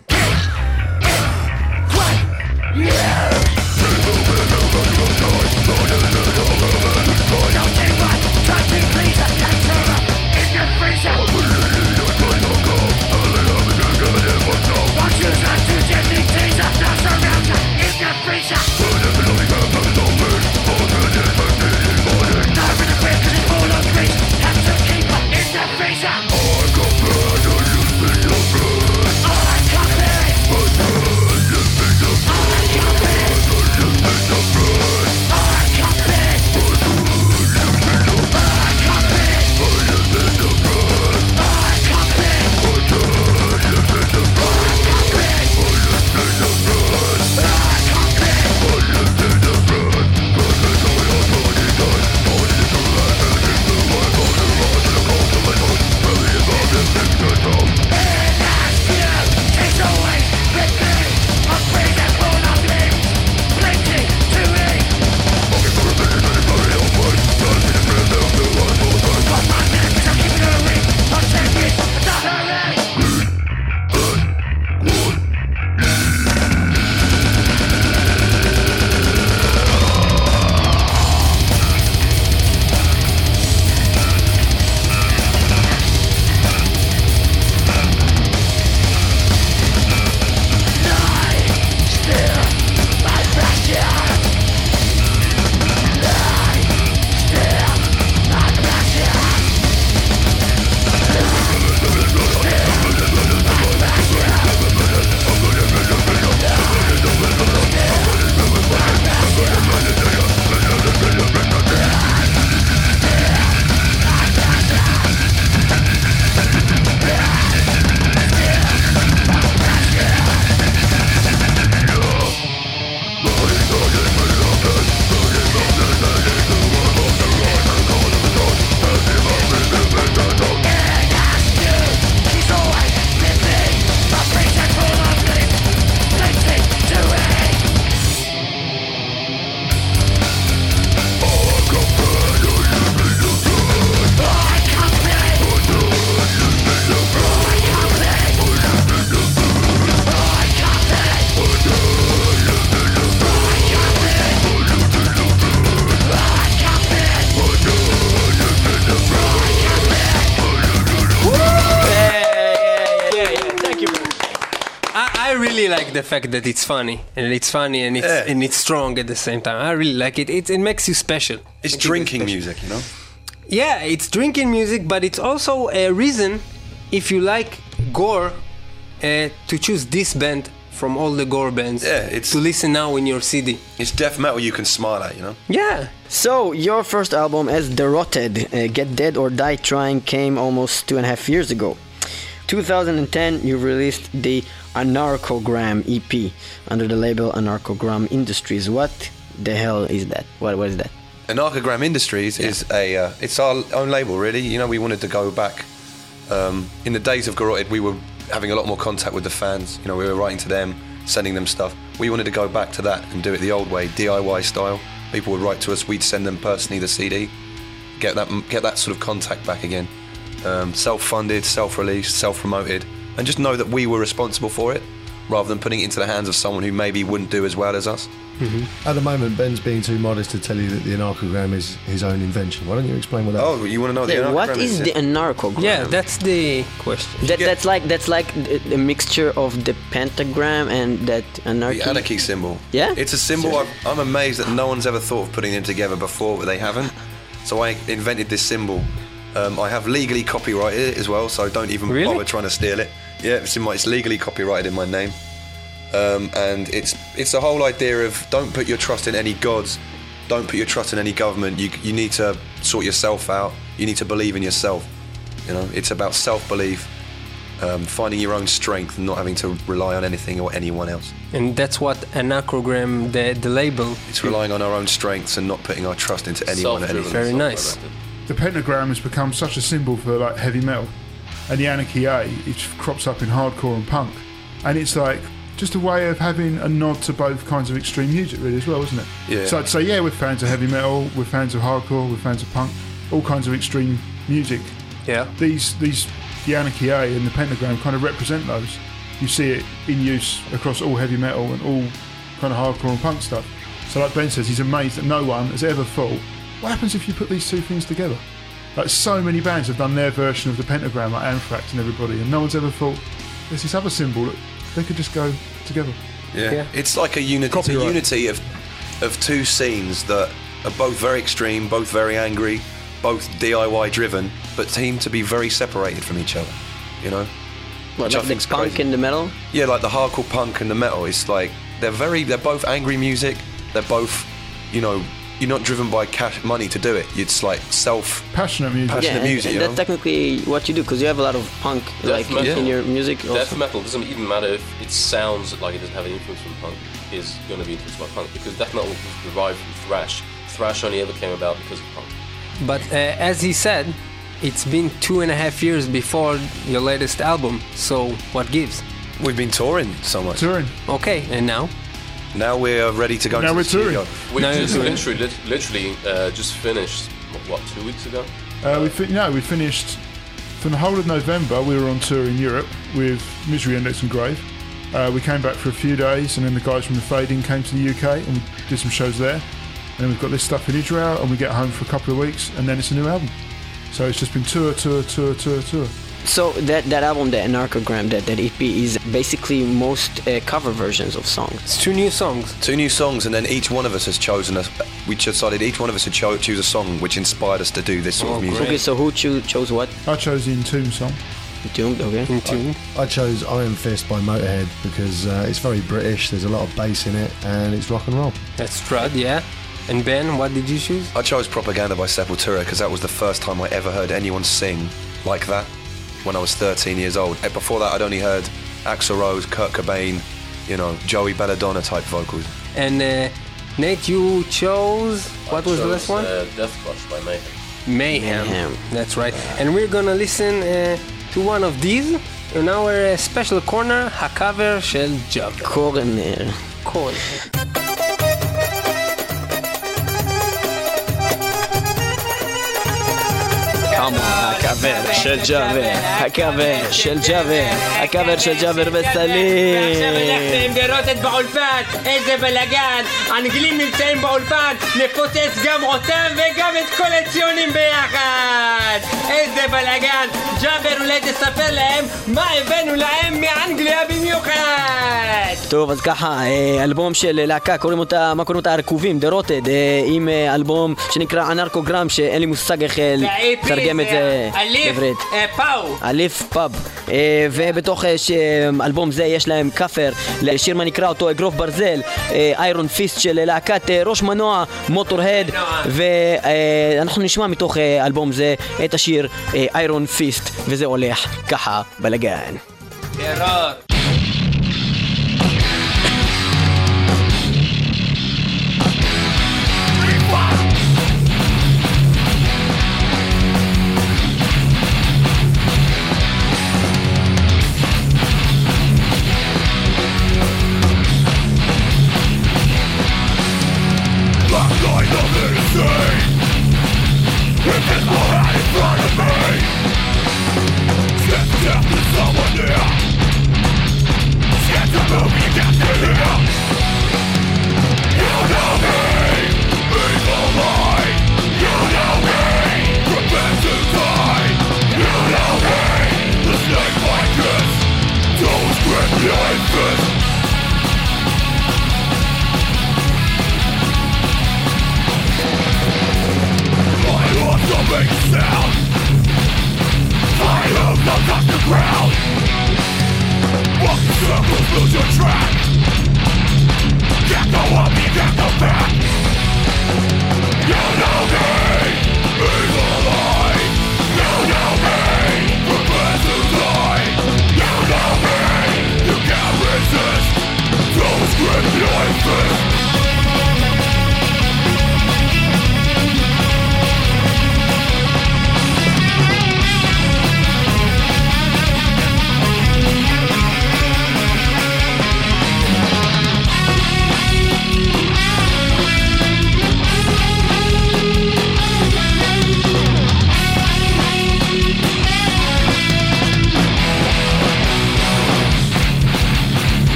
S3: Like the fact that it's funny and it's funny and it's yeah. and it's strong at the same time. I really like it. It it makes you special.
S4: It's
S3: it
S4: drinking music, you know.
S3: Yeah, it's drinking music, but it's also a reason if you like gore uh, to choose this band from all the gore bands.
S4: Yeah, it's
S3: to listen now in your C D.
S4: It's death metal you can smile at, you know.
S3: Yeah.
S2: So your first album as The Rotted, uh, Get Dead or Die Trying, came almost two and a half years ago. two thousand ten, you released the Anarchogram E P under the label Anarchogram Industries. What the hell is that? What what is that?
S4: Anarchogram Industries yeah. is a uh, it's our own label, really. You know, we wanted to go back. Um, in the days of Garroted, we were having a lot more contact with the fans. You know, we were writing to them, sending them stuff. We wanted to go back to that and do it the old way, D I Y style. People would write to us, we'd send them personally the C D, get that get that sort of contact back again. Um, self-funded, self-released, self-promoted, and just know that we were responsible for it, rather than putting it into the hands of someone who maybe wouldn't do as well as us.
S6: Mm-hmm. At the moment, Ben's being too modest to tell you that the Anarchogram is his own invention. Why don't you explain what that
S4: oh, is? Oh, you want to know the
S2: yeah,
S4: Anarchogram
S2: what is? What is the Anarchogram?
S3: Yeah, that's the question.
S2: That,
S4: yeah.
S2: That's like that's like a mixture of the pentagram and that anarchy.
S4: The anarchy symbol.
S2: Yeah,
S4: it's a symbol. I'm, I'm amazed that no one's ever thought of putting them together before, but they haven't. So I invented this symbol. Um, I have legally copyrighted it as well, so don't even
S3: really?
S4: bother trying to steal it. Yeah, it's in my, it's legally copyrighted in my name. Um, and it's it's the whole idea of don't put your trust in any gods, don't put your trust in any government. You you need to sort yourself out. You need to believe in yourself. You know, it's about self-belief, um, finding your own strength, and not having to rely on anything or anyone else.
S3: And that's what Anachrogram, the, the label...
S4: It's relying on our own strengths and not putting our trust into anyone or anything.
S3: Very nice.
S5: The pentagram has become such a symbol for like heavy metal, and the Anarchy A, it crops up in hardcore and punk, and it's like just a way of having a nod to both kinds of extreme music, really, as well, isn't it?
S4: Yeah.
S5: So I'd say, yeah, we're fans of heavy metal, we're fans of hardcore, we're fans of punk, all kinds of extreme music.
S3: Yeah.
S5: These, these, the Anarchy A and the pentagram kind of represent those. You see it in use across all heavy metal and all kind of hardcore and punk stuff. So like Ben says, he's amazed that no one has ever thought, what happens if you put these two things together? Like, so many bands have done their version of the pentagram, like Anthrax and everybody, and no one's ever thought, there's this other symbol that they could just go together.
S4: Yeah,
S3: Yeah.
S4: it's like a, uni- it's a
S5: Copyright.
S4: unity of of two scenes that are both very extreme, both very angry, both D I Y driven, but seem to be very separated from each other. You know,
S2: What,
S4: Which I
S2: like the
S4: think's
S2: punk
S4: crazy.
S2: and the metal?
S4: yeah, like the hardcore punk and the metal. It's like they're very, they're both angry music. They're both, you know, you're not driven by cash money to do it. It's like self.
S5: Passionate music.
S4: Passion-
S2: Yeah,
S4: the music,
S2: and,
S4: you
S2: and that's
S4: know?
S2: technically what you do, because you have a lot of punk like
S7: metal.
S2: in your music.
S7: Death
S2: Also.
S7: metal doesn't even matter if it sounds like it doesn't have an influence from punk. Is going to be influenced by punk because death metal was derived from thrash. Thrash only ever came about because of punk.
S3: But uh, as he said, it's been two and a half years before your latest album, so what gives?
S4: We've been touring so much.
S5: Touring.
S3: Okay, and now?
S4: Now we're ready to go
S5: Now
S4: into
S5: we're
S4: the studio.
S5: touring.
S7: We
S3: No,
S7: just
S3: you're doing-
S7: literally, lit- literally uh, just finished what two weeks ago.
S5: Uh, we fi- no, we finished from the whole of November. We were on tour in Europe with Misery Index and Grave. Uh, we came back for a few days, and then the guys from the Fading came to the U K and we did some shows there. And then we've got this stuff in Israel, and we get home for a couple of weeks, and then it's a new album. So it's just been tour, tour, tour, tour, tour.
S2: So that, that album, the Anarchogram, that, that E P is basically most uh, cover versions of songs.
S3: It's two new songs.
S4: Two new songs, and then each one of us has chosen a. We decided each one of us had cho- choose a song which inspired us to do this sort
S3: Oh,
S4: of music.
S3: great.
S2: Okay, so who cho- chose what?
S5: I chose the Entomb song.
S2: Doomed, okay.
S3: In tune.
S6: I chose Iron Fist by Motorhead because uh, it's very British, there's a lot of bass in it, and it's rock and roll.
S3: That's Strud, yeah. And Ben, what did you choose?
S4: I chose Propaganda by Sepultura because that was the first time I ever heard anyone sing like that when I was thirteen years old. And before that, I'd only heard Axl Rose, Kurt Cobain, you know, Joey Belladonna type vocals.
S3: And uh, Nate, you chose, what was the
S7: Chose,
S3: last one?
S7: Uh, Death Crush by Mayhem.
S3: Mayhem.
S2: Mayhem.
S3: That's right. And we're gonna listen uh, to one of these in our uh, special corner, הקאבר של ג'אבר.
S2: קורנר.
S3: קורנר.
S2: כמון, הקאבר של ג'אבר, הקאבר של ג'אבר, הקאבר של ג'אבר בסלים.
S9: עכשיו הלכת עם דרוטת באולפן, איזה בלאגן, האנגלים נמצאים באולפן, נפוצץ גם אותם וגם את כל הציונים ביחד. איזה בלאגן, ג'אבר אולי תספר להם מה הבאנו להם מאנגליה במיוחד.
S2: טוב, אז ככה, אה, אלבום של להקה, קוראים אותה, מה קוראים אותה? הרקובים, The Rotted, אה, עם אה, אלבום שנקרא אנרקוגרם, שאין לי מושג איך אה, לתרגם את זה
S9: אליף
S2: בעברית.
S9: פאו.
S2: אליף פאב. אה, ובתוך אה, ש- אלבום זה יש להם כפר לשיר מה נקרא אותו אגרוף ברזל, איירון פיסט של להקת אה, ראש מנוע, מוטורהד, ואנחנו נשמע מתוך אה, אלבום זה את השיר איירון פיסט, וזה הולך ככה בלגן.
S9: טרור.
S8: Walking circles, lose your track.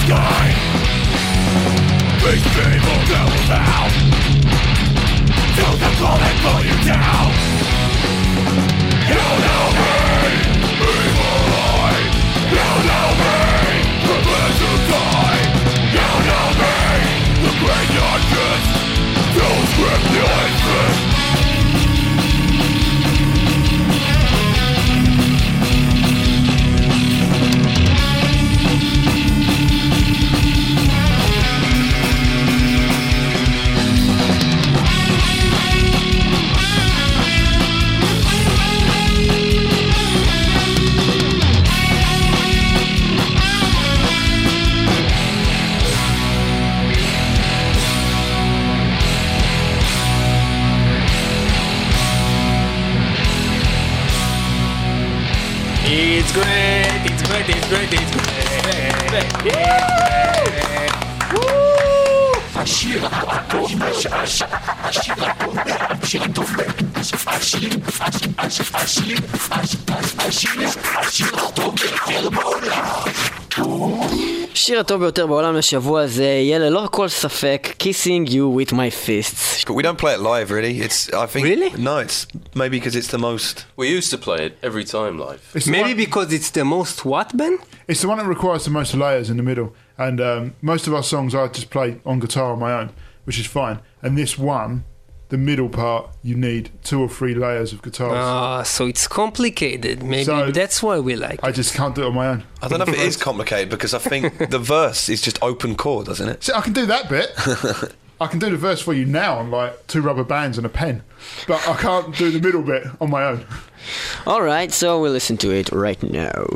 S8: sky. These people go down. To the call and pull you down. You know me, evil eye. You know me, prepare to die. You know me, the graveyard kiss. Don't script the infant.
S9: It's great, it's great, it's great, it's great.
S8: השיר הטוב השיר הטוב השיר הטוב ביותר בעולם.
S2: השיר הטוב ביותר בעולם לשבוע הזה יהיה ללא כל ספק Kissing You With My Fists.
S4: But we don't play it live, really. It's, I think...
S9: Really?
S4: No, it's maybe because it's the most...
S7: We used to play it every time live.
S5: It's the
S3: Maybe
S5: one-
S3: because it's the most what, Ben?
S5: It's the one that requires the most layers in the middle. And um, most of our songs I just play on guitar on my own, which is fine. And this one, the middle part, you need two or three layers of guitars.
S3: Ah, so it's complicated. Maybe
S5: So-
S3: that's why we like
S5: I
S3: it.
S5: just can't do it on my own.
S4: I don't know if it is complicated because I think the verse is just open chord, doesn't it?
S5: See, I can do that bit. I can do the verse for you now on like two rubber bands and a pen. But I can't do the middle bit on my own.
S2: Alright, so we'll listen to it right now.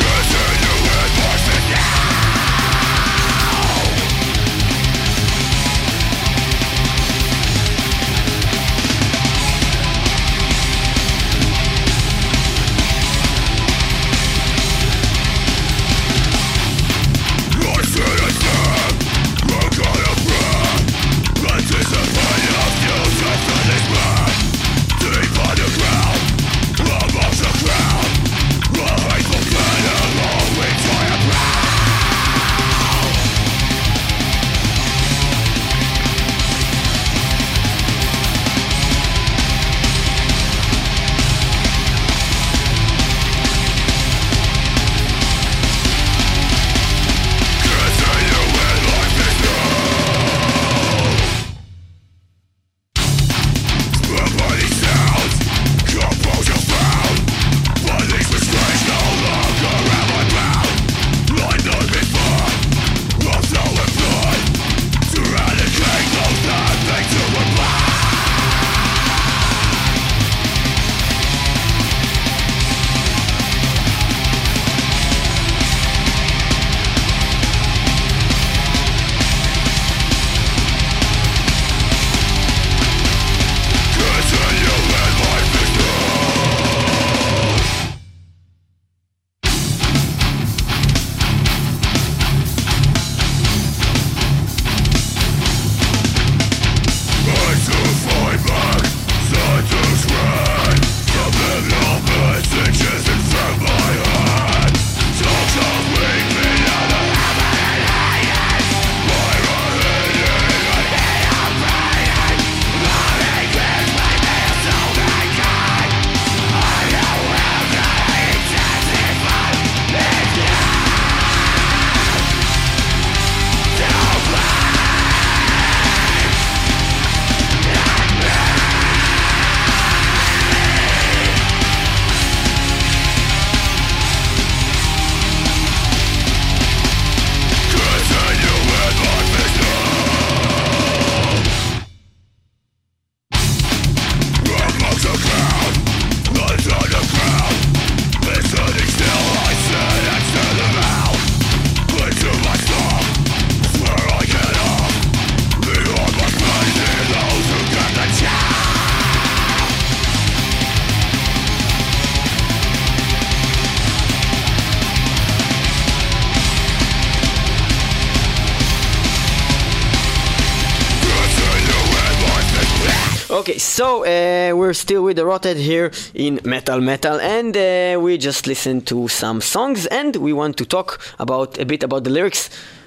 S2: Okay, so uh, we're still with the Rotted here in Metal Metal, and uh, we just listened to some songs, and we want to talk about a bit about the lyrics.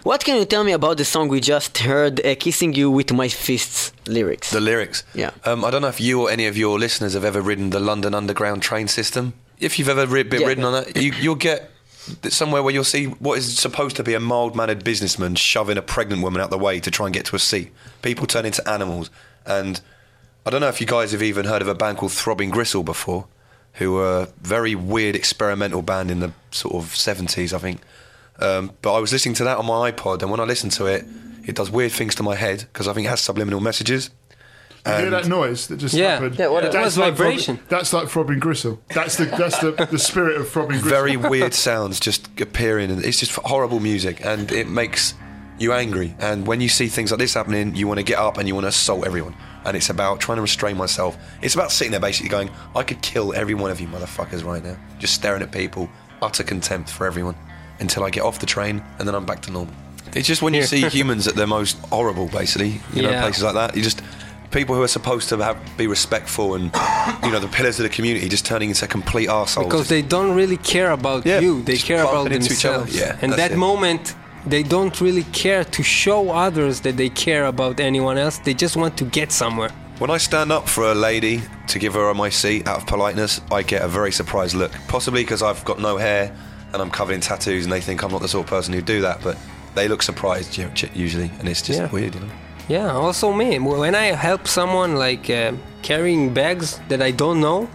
S2: What can you tell me about the song we just heard, uh, Kissing You With My Fists lyrics?
S4: The lyrics.
S2: Yeah.
S4: Um, I don't know if you or any of your listeners have ever ridden the London Underground train system. If you've ever ri- been
S2: Yeah.
S4: ridden on that, you, you'll get somewhere where you'll see what is supposed to be a mild-mannered businessman shoving a pregnant woman out the way to try and get to a seat. People turn into animals. And I don't know if you guys have even heard of a band called Throbbing Gristle before, who were a very weird experimental band in the sort of seventies, I think. Um, but I was listening to that on my iPod, and when I listen to it, it does weird things to my head, because I think it has subliminal messages.
S5: You hear
S4: And-
S5: that noise that just
S3: Yeah.
S5: happened?
S3: Yeah, what- it
S5: That's
S3: was
S5: like
S3: vibration.
S5: Throbbing- that's like Throbbing Gristle. That's the that's the, the spirit of Throbbing Gristle.
S4: Very weird sounds just appearing, and it's just horrible music, and it makes you angry. And when you see things like this happening, you want to get up and you want to assault everyone. And it's about trying to restrain myself. It's about sitting there basically going, I could kill every one of you motherfuckers right now. Just staring at people, utter contempt for everyone, until I get off the train, and then I'm back to normal. It's just when you see humans at their most horrible, basically, you know,
S3: Yeah.
S4: places like that, you just... People who are supposed to have, be respectful and, you know, the pillars of the community just turning into complete arseholes.
S3: Because they don't really care about
S4: Yeah,
S3: you. They
S4: just
S3: care about
S4: bumping into each other.
S3: themselves.
S4: Yeah,
S3: and
S4: that's
S3: that
S4: it.
S3: moment, they don't really care to show others that they care about anyone else. They just want to get somewhere.
S4: When I stand up for a lady to give her my seat out of politeness, I get a very surprised look. Possibly because I've got no hair and I'm covered in tattoos and they think I'm not the sort of person who'd do that, but they look surprised you know, usually, and it's just
S3: Yeah.
S4: weird, you know.
S3: Yeah, also me. When I help someone like uh, carrying bags that I don't know,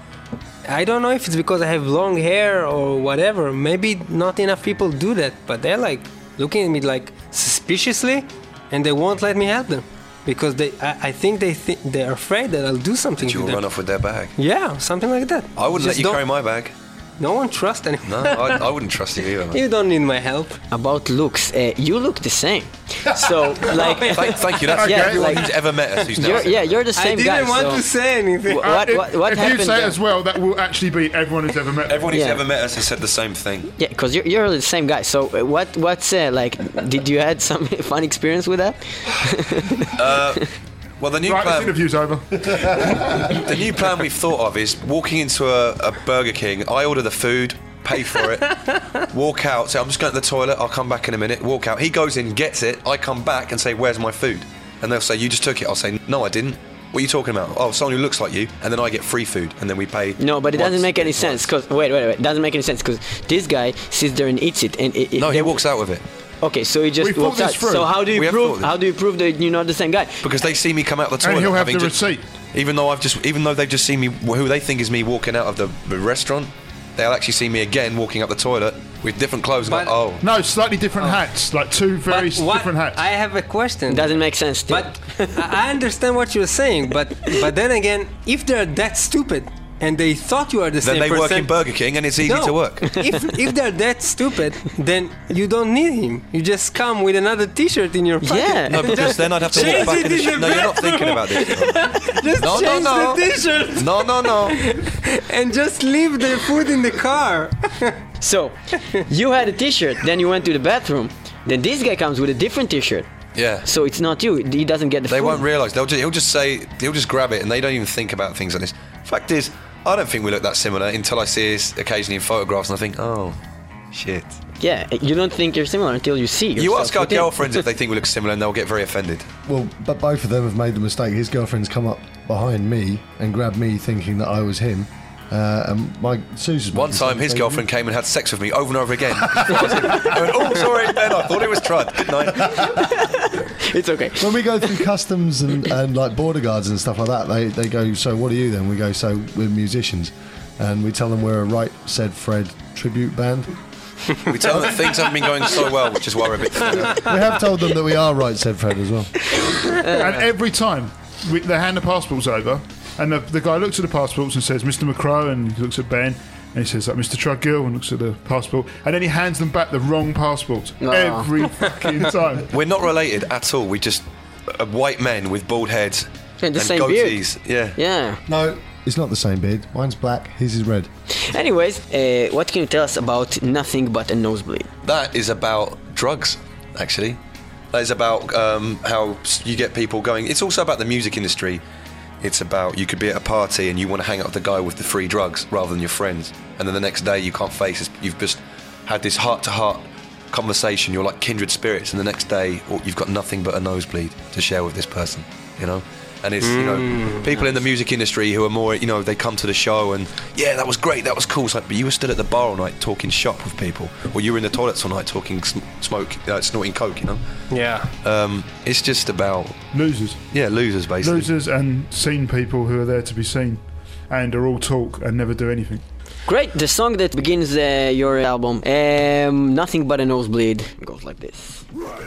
S3: I don't know if it's because I have long hair or whatever. Maybe not enough people do that, but they're like looking at me like suspiciously, and they won't let me help them because they. I, I think they think they're afraid that I'll do something
S4: That
S3: to
S4: you'll
S3: them.
S4: run off with their bag.
S3: Yeah, something like that.
S4: I wouldn't
S3: Just
S4: let you
S3: don't-
S4: carry my bag.
S3: No one trusts anyone.
S4: No, I, I wouldn't trust you either. Man.
S3: You don't need my help.
S2: About looks, uh, you look the same. So, like...
S4: Thank, thank you. That's
S2: Yeah,
S4: everyone
S2: like-
S4: who's ever met us who's now
S2: You're,
S4: said
S2: yeah, you're the
S3: I
S2: same
S3: didn't
S2: guy.
S3: want
S2: so
S3: to say anything.
S2: Wh-
S5: Uh,
S2: what,
S5: if
S2: what, what
S5: if
S2: happened
S5: you say
S2: there?
S5: it as well, that will actually be everyone who's ever met.
S4: Everyone who's
S2: Yeah.
S4: ever met us has said the same thing.
S2: Yeah, because you're, you're the same guy. So uh, what what's uh, like? Did you had some fun experience with that?
S4: Well, the new
S5: Right, this
S4: plan,
S5: interview's over.
S4: the new plan we've thought of is walking into a, a Burger King. I order the food, pay for it, walk out. Say, I'm just going to the toilet. I'll come back in a minute. Walk out. He goes in, gets it. I come back and say, "Where's my food?" And they'll say, "You just took it." I'll say, "No, I didn't." What are you talking about? Oh, someone who looks like you, and then I get free food, and then we pay.
S2: No, but it doesn't
S4: once,
S2: make any
S4: once.
S2: sense. Cause wait, wait, wait, it doesn't make any sense because this guy sits there and eats it, and it, it,
S4: No, he
S2: they-
S4: walks out with it
S2: Okay, so he just
S5: We thought
S2: walks
S5: this
S2: out.
S5: through.
S2: So how do you
S4: We have
S2: prove?
S4: thought this.
S2: How do you prove that you're not the same guy?
S4: because they see me come out the toilet.
S5: And he'll have
S4: having
S5: the
S4: just-
S5: receipt.
S4: Even though I've just, even though they've just seen me, who they think is me walking out of the, the restaurant, they'll actually see me again walking up the toilet with different clothes. And
S3: But-
S4: go, oh,
S5: No, slightly different hats, like two very
S3: But
S5: s-
S3: what-
S5: different hats.
S3: I have a question.
S2: It doesn't make sense. Still.
S3: But I I understand what you're saying, but but then again, if they're that stupid and they thought you are the
S4: then
S3: same
S4: they
S3: person,
S4: work in Burger King, and it's easy
S3: no,
S4: to work.
S3: if if they're that stupid, then you don't need him. You just come with another T-shirt in your pocket.
S2: Yeah.
S4: No, because then I'd have to
S3: Change
S4: walk back
S3: it
S4: in the
S3: in
S4: shop.
S3: the
S4: No, you're not
S3: bathroom.
S4: thinking about this.
S3: Just
S4: No, no,
S3: change
S4: no.
S3: the T-shirt
S4: No, no, no.
S3: and just leave the food in the car.
S2: So you had a T-shirt, then you went to the bathroom. Then this guy comes with a different T-shirt.
S4: Yeah.
S2: So it's not you. He doesn't get the
S4: They
S2: food.
S4: won't realise. They'll just, he'll just say, he'll just grab it, and they don't even think about things like this. Fact is, I don't think we look that similar until I see us occasionally in photographs, and I think, oh, shit.
S2: Yeah, you don't think you're similar until you see.
S4: You
S2: yourself
S4: ask our
S2: within.
S4: girlfriends if they think we look similar, and they'll get very offended.
S6: Well, but both of them have made the mistake. His girlfriend's come up behind me and grabbed me thinking that I was him. Uh, and my Susan's
S4: One time, his girlfriend came and had sex with me over and over again. I went, oh, sorry, Ben, I thought it was Trud. Good night.
S2: It's okay.
S6: When we go through customs and, and like border guards and stuff like that, they, they go, so what are you then? We go, so we're musicians. And we tell them we're a Right Said Fred tribute band.
S4: We tell them that things haven't been going so well, which is why we're a bit...
S6: We have told them that we are Right Said Fred as well.
S5: And every time we, they hand the passports over, and the, the guy looks at the passports and says, Mister McCrow, and he looks at Ben, and he says, like, Mister Trudgill, and looks at the passport, and then he hands them back the wrong passport
S2: Oh.
S5: every fucking time.
S4: We're not related at all. We just... Uh, white men with bald heads
S2: And the
S4: and
S2: same beard.
S4: goatees. Yeah.
S2: Yeah.
S6: No, it's not the same beard. Mine's black, his is red.
S2: Anyways, uh, what can you tell us about Nothing But a Nosebleed?
S4: That is about drugs, actually. That is about um, how you get people going. It's also about the music industry. It's about you could be at a party and you want to hang out with the guy with the free drugs rather than your friends. And then the next day you can't face it. You've just had this heart-to-heart conversation, you're like kindred spirits, and the next day oh, you've got nothing but a nosebleed to share with this person, you know? And it's, you know, people in the music industry who are more, you know, they come to the show and, yeah, that was great, that was cool. It's like, but you were stood at the bar all night talking shop with people, or you were in the toilets all night talking sm- smoke, uh, snorting coke, you know?
S3: Yeah.
S4: Um, it's just about...
S5: Losers.
S4: Yeah, losers, basically.
S5: Losers and seen people who are there to be seen and are all talk and never do anything.
S2: Great, the song that begins uh, your album, um, Nothing But a Nosebleed, goes like this.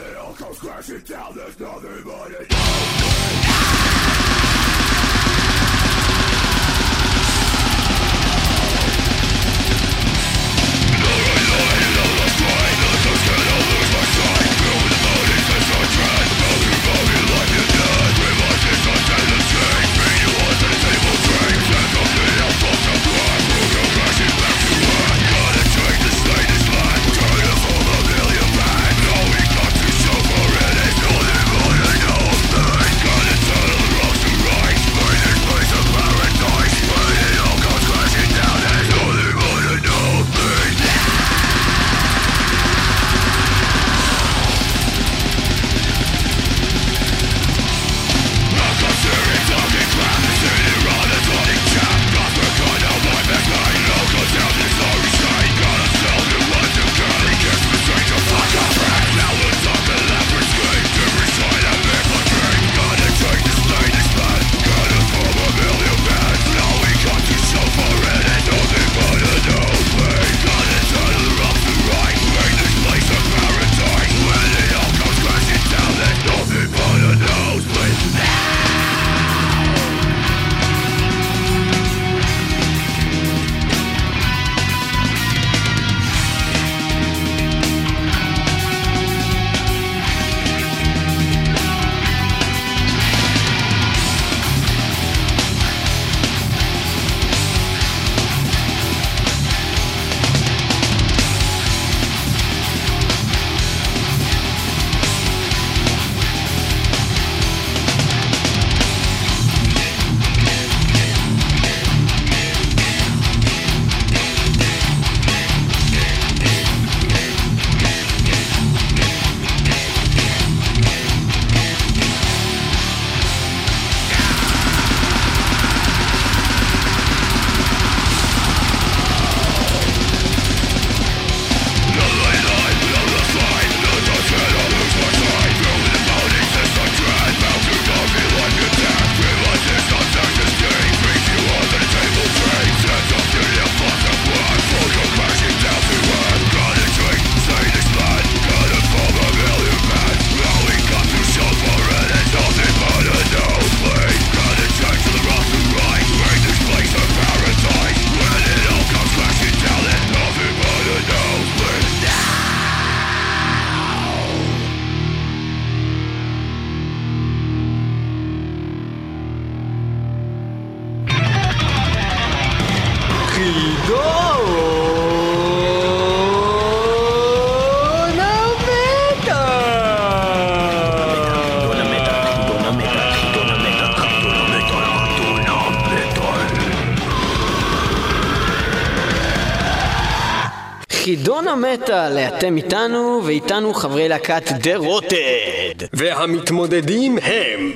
S2: חידון המטל, אתם איתנו ואיתנו חברי להקת דה רוטד.
S3: והמתמודדים הם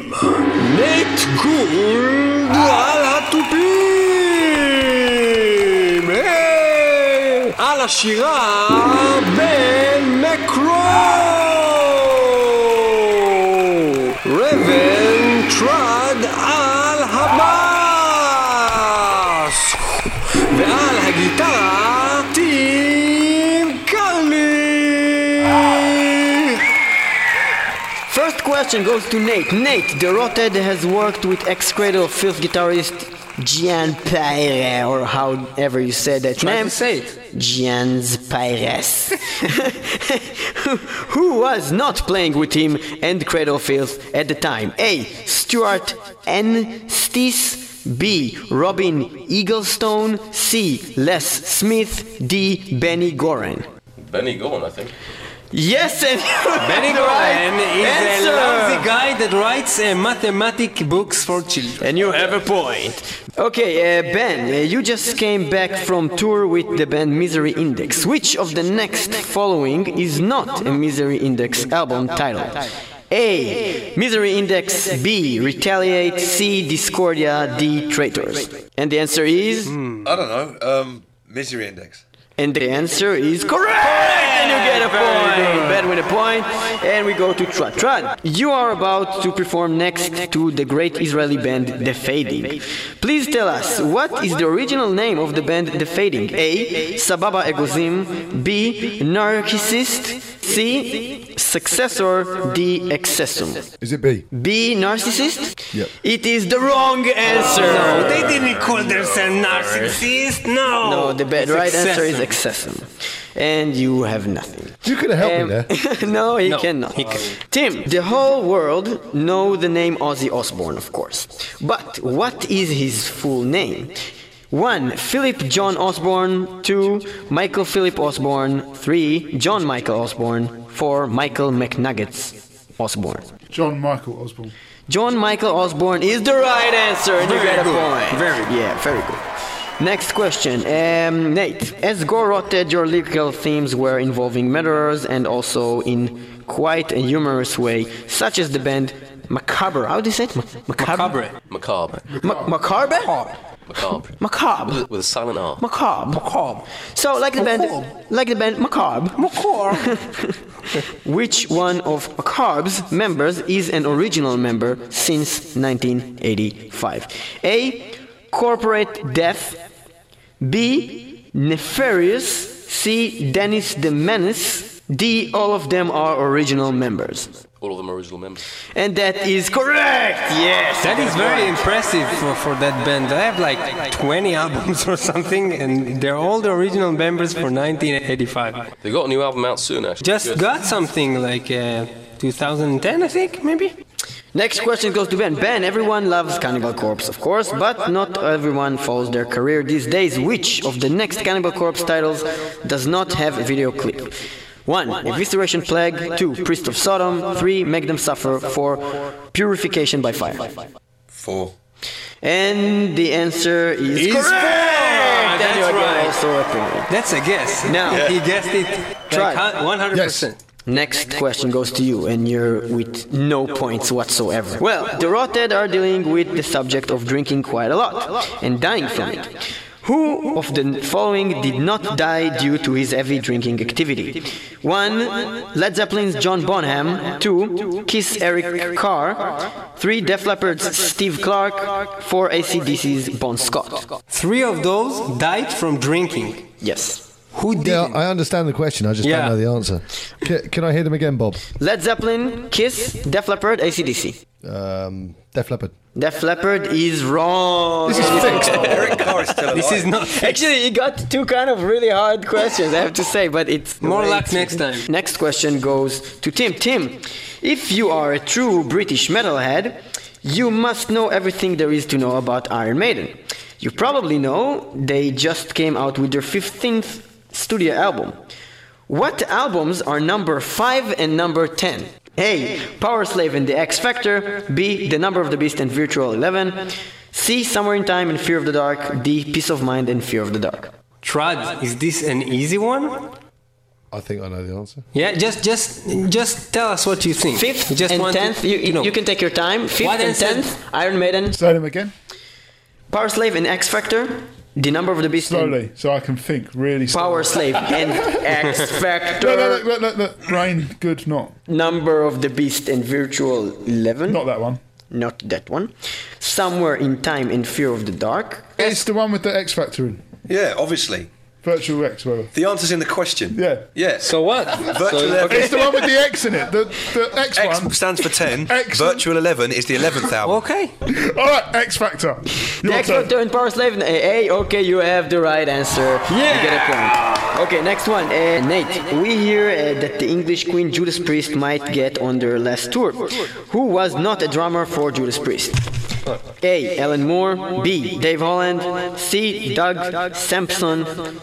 S3: נט גולד על התופים, על השירה בן מקרו, רבן טרד על הבאס, ועל הגיטרה טים קרלי.
S2: First question goes to Nate. Nate, the Rothead has worked with ex-Cradle of Filth guitarist Gian Pires, or however you say that
S3: Try
S2: name.
S3: to say it.
S2: Gian's Pires. who, who was not playing with him and Cradle of Filth at the time? A. Stuart N. Stees. B. Robin Eaglestone. C. Les Smith. D. Benny Goran.
S7: Benny Goran, I think.
S2: Yes, and
S3: Benny
S2: the right
S3: Cohen is
S2: answer.
S3: a lousy guy that writes uh, mathematic books for children.
S2: And you have a point. Okay, uh, Ben, uh, you just came back from tour with the band Misery Index. Which of the next following is not a Misery Index album title? A. Misery Index. B. Retaliate. C. Discordia. D. Traitors. And the answer is...
S4: I don't know. Um, Misery Index.
S2: And the answer is correct! And you get a point! Ben with a point. And we go to Trud. Trud, you are about to perform next to the great Israeli band The Fading. Please tell us, what is the original name of the band The Fading? A. Sababa Egozim. B. Narcissist. C. Successor. D. Excessum.
S6: Is it B?
S2: B. Narcissist?
S6: Yep.
S2: It is the wrong answer!
S3: No, they didn't call themselves narcissists. No.
S2: No, the ba-
S3: It's
S2: right answer is
S3: excessive.
S2: excessum. And you have nothing.
S6: You could have helped
S2: Um,
S6: me there.
S2: no, he
S3: No,
S2: cannot.
S3: he can-
S2: Tim, the whole world know the name Ozzy Osbourne, of course. But what is his full name? One. Philip John Osborne. Two. Michael Philip Osborne. Three. John Michael Osborne. Four. Michael McNuggets Osborne.
S5: John Michael Osborne.
S2: John Michael Osborne is the right answer, and you
S3: Very
S2: get a
S3: good.
S2: point.
S3: Very good.
S2: Yeah, very good. Next question. Um, Nate, as Gore rotted, your lyrical themes were involving murderers and also in quite a humorous way, such as the band Macabre. How do you say it? Ma- Macabre?
S3: Macabre.
S7: Macabre.
S2: Ma- Macabre?
S7: Macabre.
S2: Macabre.
S7: With, with a silent R.
S2: Macabre. Macabre. So, like the band, like the band Macabre. Macabre. Which one of Macabre's members is an original member since nineteen eighty-five? A. Corporate Death. B. Nefarious. C. Dennis the Menace. D. All of them are original members.
S7: All of them are original members.
S2: And that is correct! Yes!
S3: That is very impressive for, for that band. They have like twenty albums or something, and they're all the original members for nineteen eighty-five.
S7: They got a new album out soon, actually.
S3: Just
S7: Good.
S3: got something like uh, two thousand ten, I think, maybe?
S2: Next question goes to Ben. Ben, everyone loves Cannibal Corpse, of course, but not everyone follows their career these days. Which of the next Cannibal Corpse titles does not have a video clip? One. Evisceration Plague. Two. Priest of Sodom. Three. Make Them Suffer. Four. Purification by Fire.
S4: Four.
S2: And the answer is
S3: Is
S2: correct!
S3: four!
S2: And
S3: That's
S2: you get
S3: right.
S2: also a point.
S3: That's a guess.
S2: Now-
S3: he guessed it
S2: Try.
S3: like one hundred percent.
S6: Yes.
S2: Next question goes to you, and you're with no points whatsoever. Well, the Rotted are dealing with the subject of drinking quite a lot and dying from it. Who of the following did not die due to his heavy drinking activity? One. Led Zeppelin's John Bonham. Two. Kiss Eric Carr. Three. Def Leppard's Steve Clark. Four. A C D C's Bon Scott.
S3: Three of those died from drinking.
S2: Yes.
S3: Who did?
S6: Yeah, I understand the question. I just
S3: Yeah.
S6: don't know the answer. Can, can I hear them again, Bob?
S2: Led Zeppelin, Kiss, Def Leppard, A C D C.
S6: Um, Def Leppard.
S2: Def Leppard is wrong.
S6: This is fixed.
S4: Eric Carr is still alive.
S3: This is not
S2: Actually, you got two kind of really hard questions, I have to say, but it's... the
S3: More
S2: way
S3: luck
S2: it's-
S3: next time.
S2: Next question goes to Tim. Tim, if you are a true British metalhead, you must know everything there is to know about Iron Maiden. You probably know they just came out with their fifteenth studio album. What albums are number five and number ten? A. Power Slave and the X Factor. B. The Number of the Beast and Virtual eleven. C. Somewhere in Time and Fear of the Dark. D. Peace of Mind and Fear of the Dark.
S3: Trud. Is this an easy one?
S6: I think I know the answer.
S3: Yeah, just just just tell us what you think.
S2: Fifth
S3: We just
S2: and
S3: want to-
S2: tenth, you, you,
S3: know.
S2: you can take your time. Fifth
S3: What
S2: and
S3: answer?
S2: tenth, Iron Maiden.
S5: Say them again.
S2: Power Slave and X Factor. The Number of the Beast and
S5: Slowly, so I can think really slowly.
S2: Power Slave and X
S5: Look,
S2: Factor.
S5: look, look, look, look. Brain, good, not.
S2: Number of the Beast and Virtual eleven.
S5: Not that one.
S2: Not that one. Somewhere in Time and Fear of the Dark.
S5: It's the one with the X Factor in.
S4: Yeah, obviously.
S5: Virtual X, whatever.
S4: The answer's in the question.
S5: Yeah.
S4: Yeah.
S3: So what?
S4: Virtual
S3: So-
S4: eleven.
S5: It's the one with the X in it. The, the X,
S4: X
S5: one.
S4: stands for ten.
S5: Excellent.
S4: Virtual eleven is the eleventh album.
S3: Okay.
S5: All right, X Factor.
S2: The
S5: Your
S2: X
S5: turn.
S2: Factor and Power Slave. A, A, okay, you have the right answer.
S3: Yeah.
S2: You get a point. Okay, next one. Uh, Nate, we hear uh, that the English Queen Judas Priest might get on their last tour. Who was not a drummer for Judas Priest? A. Alan Moore, B. Dave Holland, C. Doug Sampson,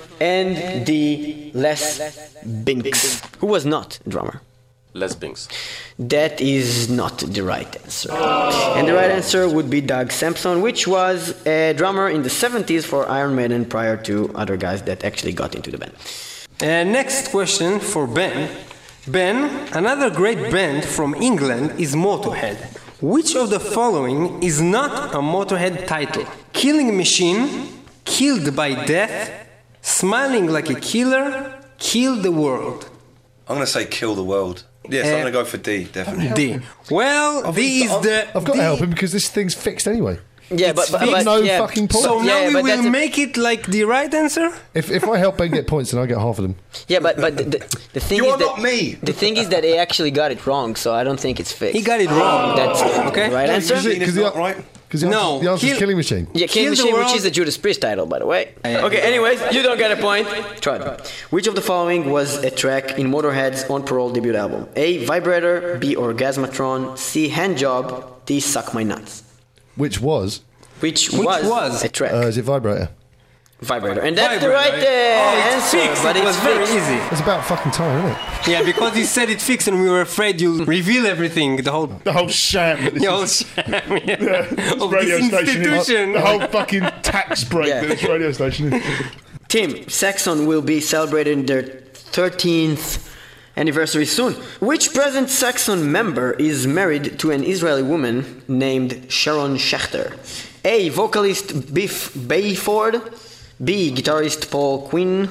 S2: and D. Les Binks, who was not a drummer.
S7: Les Binks.
S2: That is not the right answer. And the right answer would be Doug Sampson, which was a drummer in the seventies for Iron Maiden prior to other guys that actually got into the band.
S3: Uh, next question for Ben. Ben, another great band from England is Motorhead. Which of the following is not a Motorhead title? Killing Machine, Killed by Death, Smiling Like a Killer, Kill the World.
S4: I'm going to say Kill the World. Yes,
S3: Uh,
S4: I'm going to go for D, definitely.
S3: D. Well, D is the...
S6: I've got
S3: D.
S6: to help him because this thing's fixed anyway.
S2: Yeah, but, but, but
S6: no
S2: yeah.
S6: fucking point.
S3: So
S2: Yeah,
S3: now we
S2: but
S3: will
S2: that's a-
S3: make it like the right answer?
S6: If if I help Ben get points, then I get half of them.
S2: Yeah, but but the, the, the thing
S4: You
S2: is
S4: are
S2: that
S4: not me.
S2: the thing is that he actually got it wrong, so I don't think it's fixed.
S3: He got it wrong.
S2: That's
S3: Okay.
S2: the right answer.
S6: Because
S4: It's
S6: the,
S4: not right.
S6: Because the,
S3: No,
S6: answer- the answer
S3: kill-
S6: is Killing Machine.
S2: Yeah,
S3: Kill
S2: King
S3: the
S2: Machine, which
S3: World.
S2: is the Judas Priest title, by the way. Okay, anyways, you don't get a point. Try it. Which of the following was a track in Motorhead's On Parole debut album? A. Vibrator, B. Orgasmatron, C. Handjob, D. Suck My Nuts.
S6: Which was
S2: Which,
S3: Which
S2: was,
S3: was?
S2: a track.
S6: uh, is it Vibrator?
S2: Vibrator. And that's the
S3: Vibrator,
S2: right uh,
S3: Oh, it's
S2: answer,
S3: fixed.
S2: but
S3: It
S2: it's
S3: was very
S2: fixed.
S3: easy.
S6: It's about fucking time, isn't it?
S3: Yeah, because he said it fixed and we were afraid you'll reveal everything, the whole...
S5: The whole sham. that this
S3: The whole
S5: is-
S3: sham,
S5: yeah,
S3: yeah,
S5: this
S3: of
S5: radio
S3: this
S5: station is-
S3: institution.
S5: the whole fucking tax break
S2: Yeah.
S5: that this radio station is.
S2: Tim, Saxon will be celebrating their thirteenth anniversary soon. Which present Saxon member is married to an Israeli woman named Sharon Schechter? A. Vocalist Biff Bayford, B. Guitarist Paul Quinn,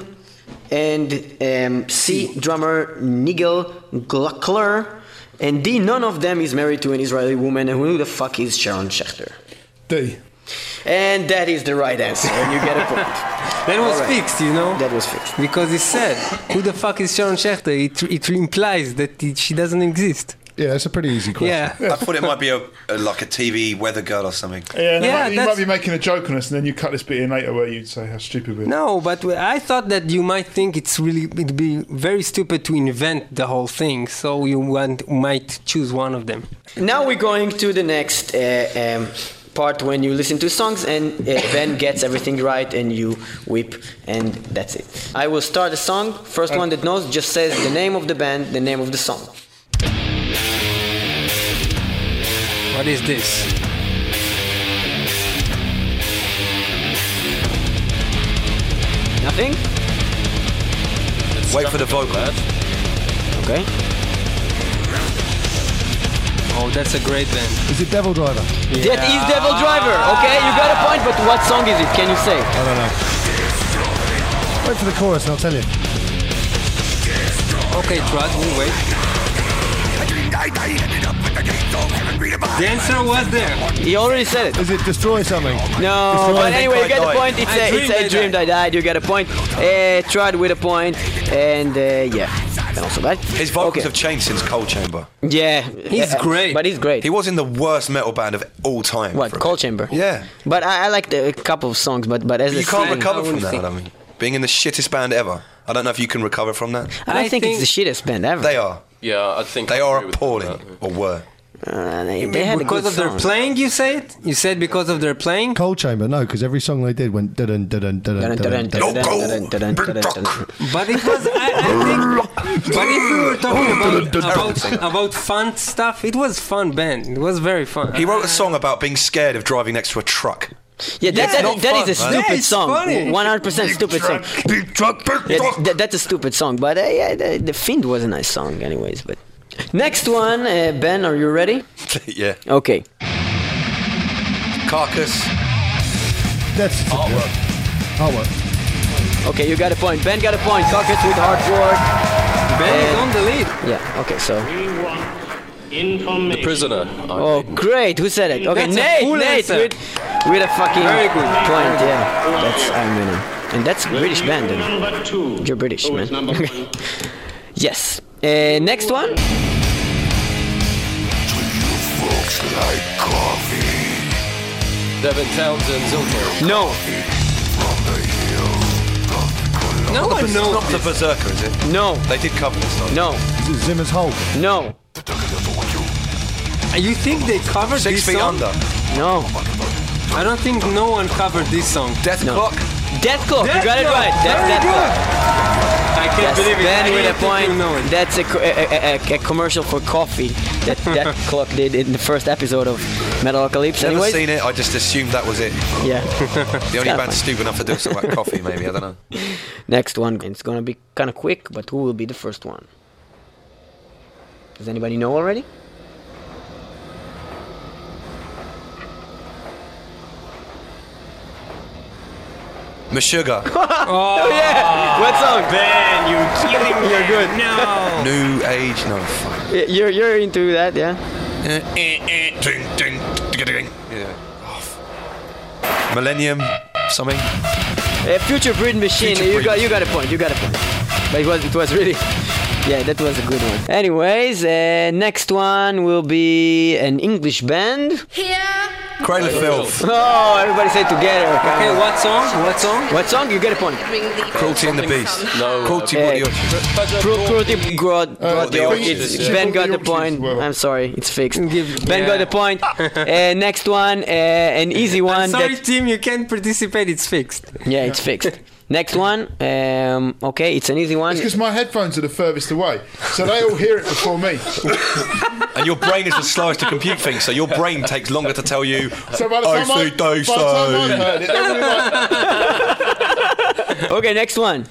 S2: and um, C. Drummer Nigel Gluckler, and D. None of them is married to an Israeli woman. And who the fuck is Sharon Schechter?
S5: D.
S2: And that is the right answer, and you get a point.
S3: That was
S2: All right.
S3: fixed, you know?
S2: That was fixed.
S3: Because he said, who the fuck is Sharon Schechter? It, it implies that it, she doesn't exist.
S6: Yeah, it's a pretty easy question.
S3: Yeah.
S4: I thought it might be a, a like a T V weather girl or something.
S5: Yeah, and
S3: Yeah,
S5: might, you
S3: that's-
S5: might be making a joke on us, and then you cut this bit in later where you'd say how stupid we are.
S3: No, but I thought that you might think it's really, it'd be very stupid to invent the whole thing, so you want, might choose one of them.
S2: Now we're going to the next uh, um, part when you listen to songs and uh, Ben gets everything right and you whip and that's it. I will start the song. First one that knows just says the name of the band, the name of the song.
S3: What is this?
S2: Nothing?
S4: Wait for the vocal.
S2: Okay.
S3: Oh, that's a great band.
S6: Is it Devil Driver?
S2: That is Devil Driver. Okay, you got a point, but what song is it? Can you say?
S6: I don't know. Wait for the chorus and I'll tell you.
S3: Okay, Trud, we'll wait. The answer was there.
S2: He already said it.
S6: Is it Destroy Something?
S2: No,
S6: Destroy
S2: but
S6: Something.
S2: anyway, you get the
S4: Die.
S2: point. It's
S3: I
S2: a,
S3: dreamed
S2: it's a
S3: I
S2: dream
S3: died.
S2: I died. You get a point. Uh, Trud with a point, and uh, yeah, not so bad.
S4: His vocals
S2: Okay.
S4: have changed since Cold Chamber.
S2: Yeah,
S3: He's
S2: uh,
S3: great.
S2: But he's great.
S4: He was in the worst metal band of all time.
S2: What,
S4: for a
S2: Cold
S4: bit.
S2: Chamber?
S4: Yeah.
S2: But I, I liked a couple of songs, but but as
S4: You
S2: a
S4: can't
S2: thing,
S4: recover
S3: I
S4: from
S3: wouldn't
S4: that,
S3: think-
S4: I mean. Being in the shittest band ever. I don't know if you can recover from that.
S2: I don't
S3: I
S2: think,
S3: think-
S2: it's the shittest band ever.
S4: They are.
S7: Yeah, I think
S4: They
S7: I
S4: are
S7: agree with
S4: appalling.
S7: that.
S4: Or were.
S2: Uh, they, they had a
S3: Because
S2: good
S3: of their
S2: song.
S3: playing, you say it? You said because of their playing?
S6: Cold Chamber, no, because every song they did went dun dun dun dun dun dun.
S3: But it was, I, I think, but if we were talking about, about, about fun stuff, it was fun band. It was very fun.
S4: He wrote a song about being scared of driving next to a truck.
S2: Yeah, that,
S4: Yeah,
S2: that,
S4: not
S2: that
S4: fun,
S2: is a
S4: man.
S2: stupid
S3: Yeah, it's
S2: song.
S3: funny.
S2: one hundred percent stupid song.
S4: Big truck, big
S2: Yeah,
S4: truck.
S2: that, that's a stupid song, but uh, yeah, the, the Fiend was a nice song, anyways. But next one, uh, Ben, are you ready?
S4: Yeah.
S2: Okay.
S4: Carcass.
S6: That's artwork. Artwork.
S2: Okay, you got a point. Ben got a point. Carcass with hard work.
S3: Ben is
S2: And-
S3: on the lead.
S2: Yeah. Okay. So.
S7: The Prisoner. I
S2: Oh,
S7: think.
S2: great. Who said it? Okay,
S3: That's a
S2: Nate.
S3: full
S2: Nate
S3: answer.
S2: with with a fucking
S3: Very good.
S2: point. Yeah. That's I'm winning. And that's a British band. Then.
S10: Number two.
S2: You're British,
S10: Who
S2: man.
S10: is number one?
S2: Yes. Uh, next one.
S7: Devin Townsend, Zilko.
S2: No.
S3: No one knows
S4: Not the
S3: this.
S4: Berserker, is it?
S2: No.
S4: They did cover this song.
S2: No.
S6: Is it Zimmer's Hulk?
S2: No.
S3: You think they covered
S4: Six
S3: this
S4: Feet
S3: song?
S4: Under.
S2: No.
S3: I don't think no one covered this song.
S4: Death
S2: No.
S4: Clock.
S2: Death Clock,
S3: Death
S2: you got it
S3: Clock.
S2: right. That's
S3: Very
S2: Death
S3: good.
S2: Clock.
S3: I can't
S2: Yes,
S3: believe it.
S2: Ben
S3: I
S2: with a
S3: didn't
S2: point.
S3: even know it.
S2: That's a, co- a, a, a, a commercial for coffee that Death Clock did in the first episode of Metalocalypse.
S4: Never
S2: Anyways,
S4: seen it. I just assumed that was it.
S2: yeah.
S4: The only
S2: kinda
S4: band
S2: fun.
S4: stupid enough to do something like coffee, maybe. I don't know.
S2: Next one. It's gonna be kind of quick, but who will be the first one? Does anybody know already?
S4: Meshuggah.
S2: Oh yeah. What song?
S9: Ben, you're killing me.
S2: You're good.
S9: No.
S4: New Age. No, fuck.
S2: Y- You're you're into that, yeah?
S4: Ding, ding, ding, ding. Yeah. Oh, f- Millennium. Something.
S2: Uh, Future Breed Machine.
S4: Future
S2: you
S4: Breed
S2: got you got a point. You got a point. But it was it was really. Yeah, that was a good one. Anyways, uh, next one will be an English band.
S4: Cradle of Filth.
S2: Oh, everybody say it together. Come
S3: Okay,
S2: on.
S3: what song? What song?
S2: What song? You get a point.
S4: Cruelty and the Beast.
S7: No.
S4: Cruelty
S2: Uh,
S4: what the
S2: Cru- Cruelty Grod.
S5: Uh,
S4: the Yorkshire's,
S2: it's-
S4: yeah.
S2: Ben got the
S5: Yorkshire's
S2: point.
S5: as well.
S2: I'm sorry, it's fixed.
S3: Give-
S2: Ben
S3: yeah.
S2: got the point. Uh, next one, uh, an easy one.
S3: Sorry,
S2: that-
S3: team, you can't participate. It's fixed.
S2: yeah, it's fixed. Next one. Um, okay, it's an easy one.
S5: It's because my headphones are the furthest away, so they all hear it before me.
S4: And your brain is the slowest to compute things, so your brain takes longer to tell you.
S5: So by the
S4: I
S5: time, I,
S4: see,
S5: by
S4: they
S5: the time I've
S4: say.
S5: heard it, they're really like,
S2: Okay, next one.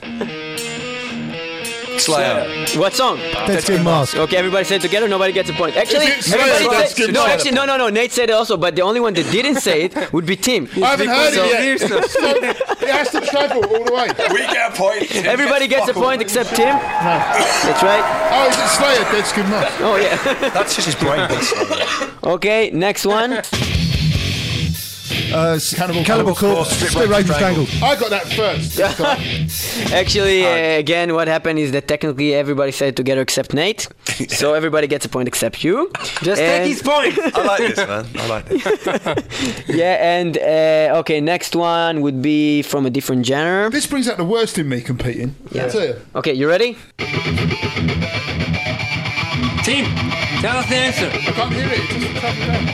S4: Slayer.
S2: What song?
S6: Dead Skin Mask.
S2: Okay, everybody say it together. Nobody gets a point. Actually,
S5: Is it Slayer?
S2: everybody
S5: That's
S2: say,
S5: good.
S2: no,
S5: Slayer.
S2: actually, no, no, no. Nate said it also, but the only one that didn't say it would be Tim.
S5: I haven't heard
S3: So-
S5: it yet. So it has to travel all the way.
S4: We get a point.
S2: Everybody gets a point except Tim. That's right.
S5: Oh, is it Slayer? Dead Skin Mask.
S2: Oh yeah.
S4: That's just his brain.
S2: Okay, next one.
S6: Uh,
S5: Cannibal
S6: Cannibal
S5: Corpse.
S6: Corpse.
S4: Strip
S6: Strip
S4: Rage
S6: Rage
S4: Strangled.
S6: Strangled.
S5: I got that first. this time.
S2: Actually, uh, again, what happened is that technically everybody said it together except Nate. So everybody gets a point except you.
S3: Just
S2: And-
S3: take his point.
S4: I like this, man. I like this.
S2: Yeah, and uh, okay, next one would be from a different genre.
S5: This brings out the worst in me competing.
S2: Yeah.
S5: I tell you.
S2: Okay, you ready?
S3: Team, tell us the answer.
S5: I can't hear it. It doesn't travel down.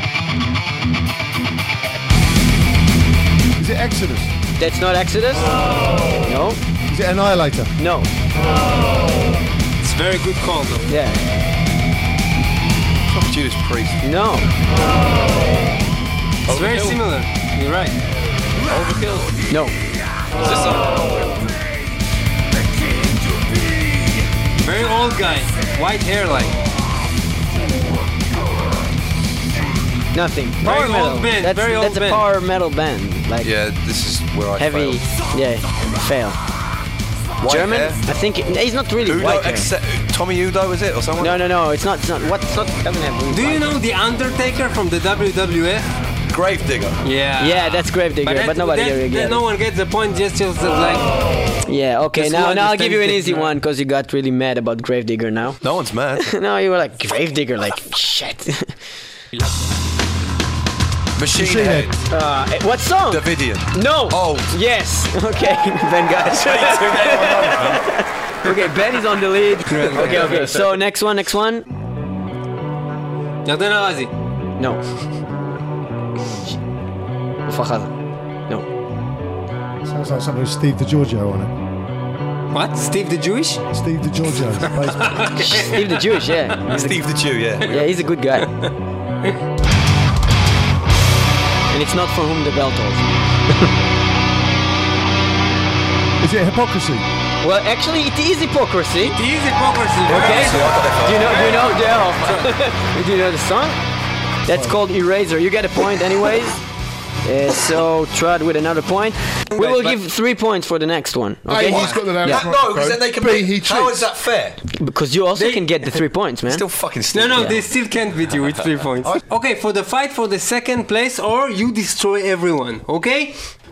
S5: Is it Exodus?
S2: That's not Exodus. No.
S6: Is it Annihilator?
S2: No.
S3: It's very good call, though.
S2: Yeah.
S4: Fuck Judas Priest.
S2: No.
S3: It's very similar. You're right.
S7: Overkill.
S2: No.
S7: Is this song?
S3: Very old guy. White hair, like.
S2: Nothing.
S3: Very
S2: Power
S3: old
S2: metal.
S3: band,
S2: That's,
S3: very old
S2: that's a
S3: band.
S2: power metal band. Like
S4: Yeah, this is where I
S2: heavy.
S4: failed.
S2: Yeah. Fail.
S4: White
S2: German?
S4: hair.
S2: I think it, he's not really
S4: Udo,
S2: white hair.
S4: except, Tommy Udo, is it? Or someone?
S2: No, no, no. It's not. It's not. What? It's not. Doesn't have. really
S3: Do you
S2: white
S3: know The Undertaker from the W W F?
S4: Gravedigger.
S3: Yeah.
S2: Yeah, that's Gravedigger, but,
S3: that-
S2: nobody
S3: that-
S2: really
S3: that
S2: gets
S3: no
S2: it.
S3: one gets the point. Just, just uh, like.
S2: Yeah, okay.
S3: Just
S2: Now,
S3: one
S2: now I'll give you an
S3: understands
S2: easy
S3: it,
S2: one because you got really mad about Gravedigger now.
S4: No one's mad.
S2: No, you were like Gravedigger, like shit.
S4: Machine,
S6: Machine
S4: Head.
S6: Head.
S2: Uh, eh, what song?
S4: Davidian.
S2: No.
S4: Oh.
S2: Yes. Okay, Ben got it. Okay, Ben is on the lead. Okay, okay. So next one, next one.
S3: Yarden Arazi.
S2: No. Ufahada. No.
S6: Sounds like something with Steve DiGiorgio on it.
S3: What? Steve the Jewish?
S6: Steve DiGiorgio. basically.
S2: Steve the Jewish, yeah. He's a,
S4: Steve the Jew, yeah.
S2: yeah, he's a good guy. And it's not for whom the bell tolls.
S6: Is it Hypocrisy?
S2: Well, actually, it is hypocrisy.
S3: It is hypocrisy.
S2: Okay.
S4: See, I got that
S2: Do you know? Do you know? The, do you know the song? That's called Eraser. You get a point, anyways. Uh, so Trud with another point. We will give three points for the next one. Okay?
S5: A, he's got the damn
S2: Yeah.
S5: front
S4: No, because
S5: row.
S4: then they can
S5: B,
S4: be.
S5: he
S4: How
S5: cheats.
S4: is that fair?
S2: Because you also
S3: They-
S2: can get the three points, man.
S4: Still fucking
S3: No,
S4: stupid.
S3: no,
S2: Yeah.
S3: they still can't beat you with three points. Okay, for the fight for the second place, or you destroy everyone. Okay?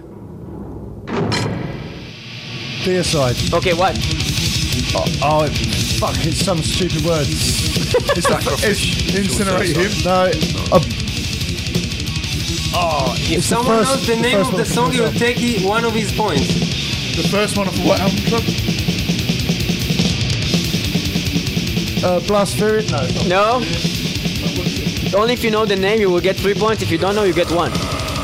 S6: Deicide.
S2: Okay, what?
S6: Oh, it, fuck, it's some stupid word. It's like
S5: It's incinerate him.
S6: No, uh,
S3: If
S6: It's the
S3: someone
S6: first-
S3: knows the
S6: the
S3: name
S6: first
S3: of the
S6: one
S3: song,
S6: from
S3: you'll
S6: the
S3: take he- one of his points.
S5: The first one off of what album club?
S6: uh, Blast Spirit? No.
S2: No? only if you know the name you will get three points. If you don't know, you get one.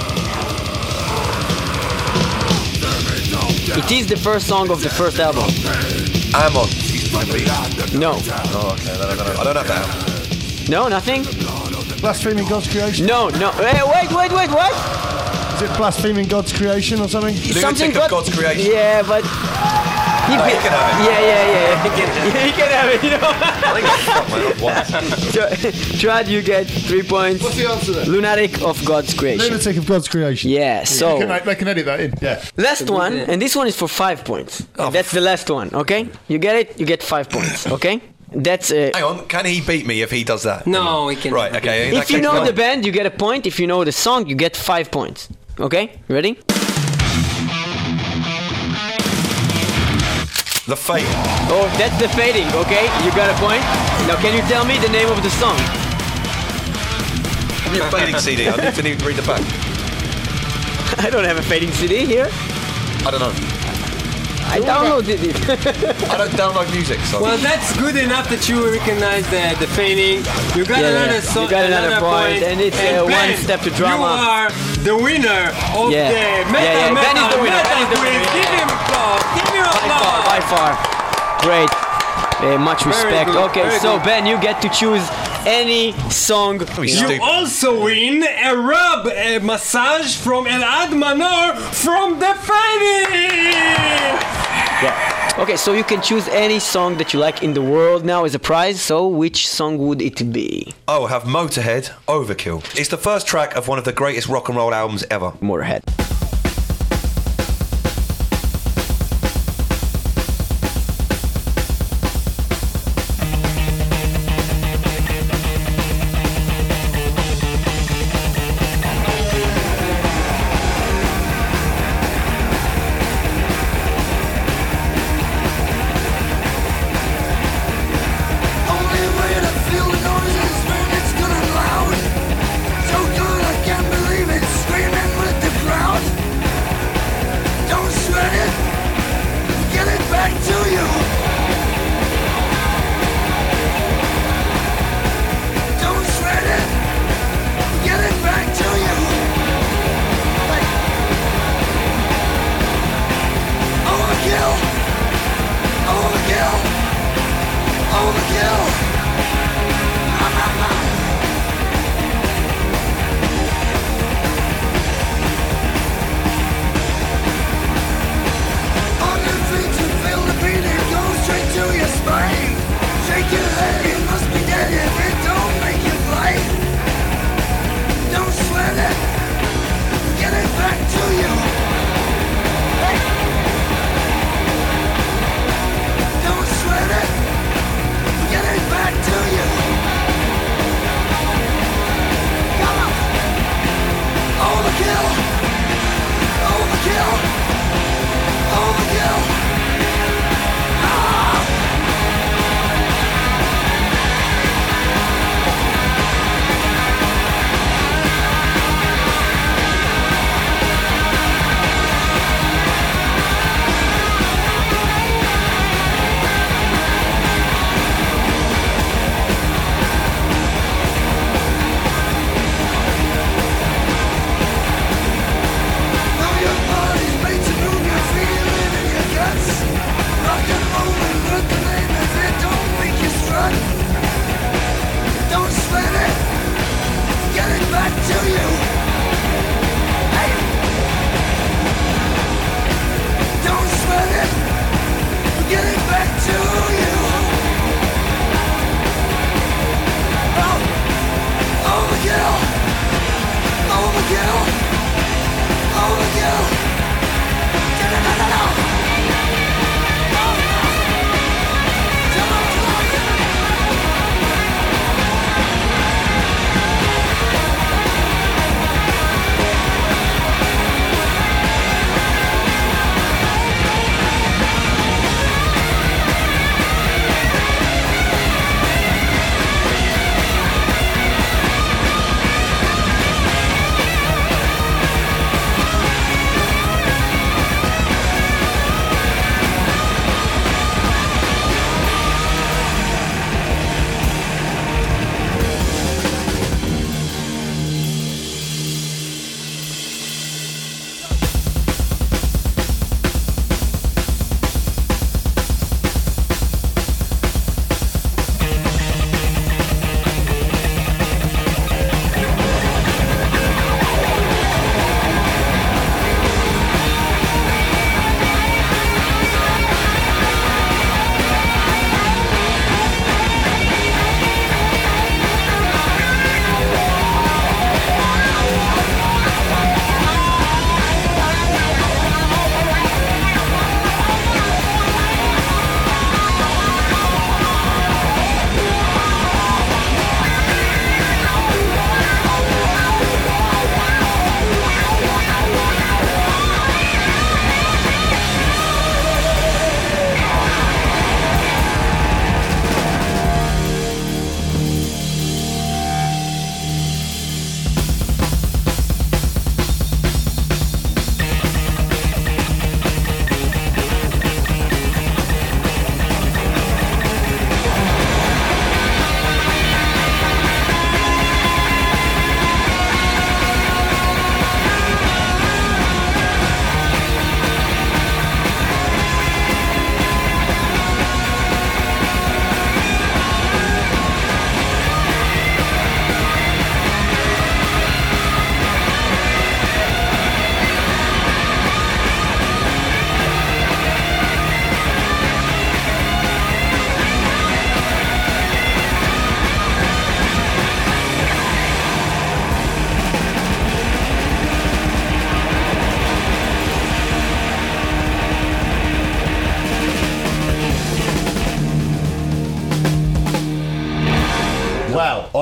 S2: It is the first song of the first album.
S4: Amon.
S2: No.
S4: Oh, okay. I don't know. I don't have that.
S2: No, nothing?
S6: Blaspheming God's creation?
S2: No, no. Hey, wait, wait, wait, what?
S6: Is it blaspheming God's creation or something?
S2: Something
S4: of God's creation.
S2: Yeah, but... He,
S4: Oh, he can have it.
S2: Yeah, yeah, yeah. He can, yeah, he can have it, you know.
S4: I think it's fuck, man. What?
S2: Trad, you get three points.
S6: What's the answer then?
S2: Lunatic of God's creation.
S6: Lunatic of God's creation.
S2: Yeah, so...
S5: They can, they can edit that in. Yeah.
S2: Last one, and this one is for five points.
S4: Oh,
S2: That's the last one, okay? You get it, you get five points, okay? That's... Uh,
S4: Hang on, can he beat me if he does that?
S3: No, we can.
S4: Right, okay. in that
S2: if you
S4: case,
S2: know
S4: no.
S2: the band, you get a point. If you know the song, you get five points. Okay? Ready?
S4: The Fate.
S2: Oh, that's the fading, okay? You got a point. Now, can you tell me the name of the song?
S4: Give me a fading C D. I need to need to read the back.
S2: I don't have a fading C D here.
S4: I don't know.
S2: I downloaded it.
S4: I don't download music, so...
S3: Well, that's good enough that you recognize the, the fading. You got
S2: Yeah,
S3: another
S2: yeah.
S3: song,
S2: You got another point, and it's, uh, one
S3: Ben,
S2: step to drama.
S3: You are the winner of
S2: Yeah.
S3: the metal
S2: Yeah, yeah, Ben
S3: metal
S2: is the winner, Ben is the
S3: metal quiz.
S2: winner.
S3: Give him applause. Give him
S2: By far,
S3: applause.
S2: by far. Great. Uh, much respect.
S3: good,
S2: Okay,
S3: very
S2: so
S3: good.
S2: Ben, you get to choose any song.
S4: Be
S3: You
S4: stupid.
S3: also win a rub a massage from Elad Manor from the fading.
S2: Okay, so you can choose any song that you like in the world now as a prize. So which song would it be?
S4: Oh, have Motorhead, Overkill. It's the first track of one of the greatest rock and roll albums ever.
S2: Motorhead.
S8: Only way to feel the noise is when it's good and loud. So good I can't believe it, screaming with the crowd.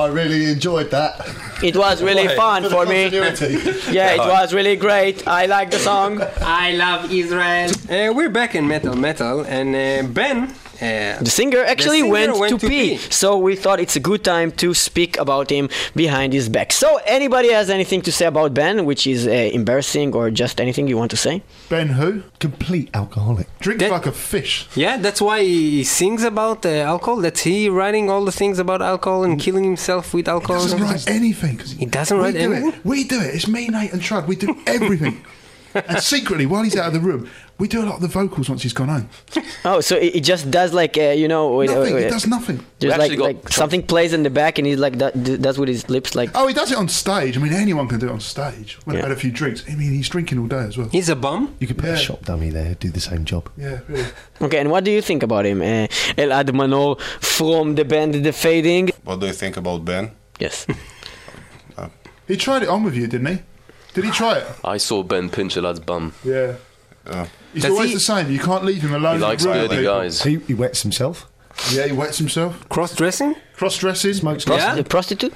S6: I really enjoyed that.
S2: It was really fun for me. Yeah, it was really great. I like the song.
S3: I love Israel. Uh, we're back in Metal Metal, and uh, Ben, uh,
S2: The singer actually
S3: singer
S2: went,
S3: went
S2: to,
S3: to
S2: pee.
S3: pee.
S2: So we thought it's a good time to speak about him behind his back. So anybody has anything to say about Ben, which is uh, embarrassing or just anything you want to say?
S5: Ben who?
S6: Complete alcoholic.
S5: Drinks
S3: That-
S5: like a fish.
S3: yeah, that's why he sings about uh, alcohol. That's he writing all the things about alcohol and killing himself with
S5: He
S3: alcohol.
S5: doesn't write anything.
S3: He doesn't
S5: we
S3: write
S5: do
S3: anything?
S5: It. We do it. It's me, Nate, and Trud. We do everything. And secretly, while he's out of the room, we do a lot of the vocals once he's gone home.
S2: Oh, so it, it just does like, uh, you know... wait,
S5: Nothing.
S2: wait,
S5: He
S2: wait.
S5: does nothing.
S2: Just like,
S7: actually got
S2: like something plays in the back and he's like, that, d- does with his lips like...
S5: Oh, he does it on stage. I mean, anyone can do it on stage. When
S2: Yeah.
S5: I've had a few drinks. I mean, he's drinking all day as well.
S3: He's a bum.
S6: You could put
S5: Yeah.
S6: a shop dummy there, do the same job.
S5: Yeah, really.
S2: Okay, and what do you think about him? Uh, Elad Manor from the band The Fading.
S10: What do you think about Ben?
S2: Yes.
S5: He tried it on with you, didn't he? Did he try it?
S7: I saw Ben pinch a lad's bum.
S5: Yeah.
S10: Uh,
S5: He's
S3: Does
S5: always
S3: he-
S5: the same. You can't leave him alone.
S7: He
S5: in
S7: likes
S5: the room with
S7: dirty
S5: people.
S7: guys.
S6: He, he wets himself,
S5: Yeah, he wets himself.
S3: Cross-dressing.
S5: Cross-dressing.
S6: smokes
S3: Yeah.
S2: The prostitute?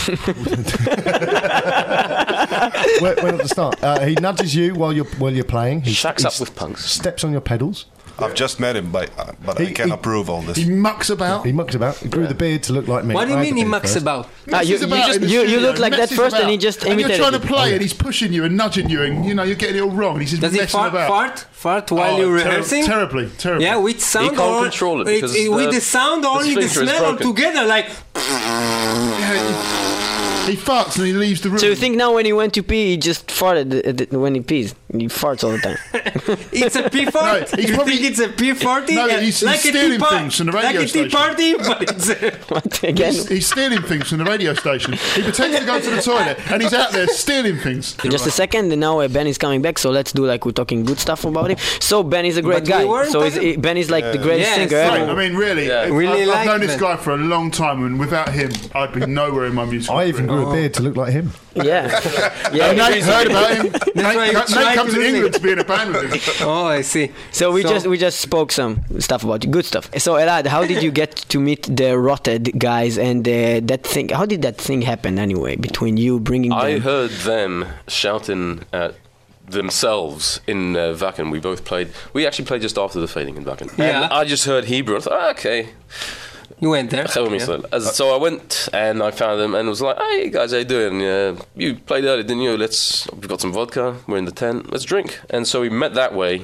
S6: Where, where at the start? Uh, he nudges you while you're while you're playing. He
S7: Shacks
S6: he
S7: up with punks.
S6: Steps on your pedals.
S10: I've just met him, but, uh, but I
S6: He-
S10: can
S6: he-
S10: approve all this.
S5: He mucks about.
S6: He mucks about. He grew the beard to look like me.
S3: What do you
S6: I had
S3: mean
S6: the
S3: he
S6: beard
S3: mucks
S6: first.
S3: about?
S2: Ah, you,
S5: Messes
S2: you,
S5: about
S2: just,
S5: in the
S2: you, you
S5: studio,
S2: look like that
S5: messes
S2: first and
S5: about.
S2: he just
S5: And
S2: imitated
S5: you're trying
S2: you.
S5: to play and he's pushing you and nudging you and, you know, you're getting it all wrong. And he's just
S3: Does he
S5: messing
S3: fart,
S5: about.
S3: fart, fart while
S5: Oh,
S3: you're
S5: ter-
S3: rehearsing?
S5: Terribly, terribly.
S3: Yeah, with sound
S7: He can't
S3: or
S7: control it
S3: it's-
S7: because
S3: it- with
S7: the-
S3: the sound
S7: the
S3: only the
S7: sphincter is
S3: smell
S7: broken.
S3: together. Like
S5: Yeah, he, he farts and he leaves the room.
S2: So you think now when he went to pee, he just farted uh, uh, when he pees? He farts all the time.
S3: it's a pee fart.
S5: No, he's
S3: you
S5: probably-
S3: think it's a pee party?
S5: No,
S3: Yeah,
S5: he's- he's
S3: like a
S5: stealing
S3: tea par-
S5: things from the radio
S3: like a tea
S5: station.
S3: party, but it's a
S2: What, again?
S5: He's, he's stealing things from the radio station. He pretends to go to the toilet and he's out there stealing things.
S2: Just a second, and now uh, Ben is coming back, so let's do like we're talking good stuff about him. So Ben is a great
S3: But we
S2: guy.
S3: weren't
S2: So he's,
S3: talking-
S2: he, Ben is like the greatest
S3: Yes,
S2: singer
S3: right.
S2: ever.
S5: I mean, really,
S7: Yeah.
S5: I've,
S3: Really
S5: I've
S3: like
S5: known this
S3: Ben.
S5: guy for a long time, and without him, I'd be nowhere in my music.
S6: I even grew a beard to look like him.
S2: Yeah.
S5: And
S2: yeah.
S5: Nate heard about him. Nate,
S3: why you
S5: Nate
S3: tried
S5: come
S3: to
S5: to
S3: do
S5: England
S3: it.
S5: to be in a band with him.
S3: Oh, I see.
S2: So we just we just spoke some stuff about you, good stuff. So Elad, how did you get to meet the Rotted guys and uh, that thing? How did that thing happen anyway between you bringing
S7: I
S2: them?
S7: heard them shouting at themselves in uh, Wacken. We both played. We actually played just after the Fading in Wacken.
S3: Yeah.
S7: And I just heard Hebrew. I thought, ah, okay.
S3: You went there.
S7: Hello,
S3: Yeah.
S7: Mister. As- So I went and I found them and was like, "Hey guys, how you doing? Uh, you played earlier, didn't you? Let's. We've got some vodka. We're in the tent. Let's drink." And so we met that way.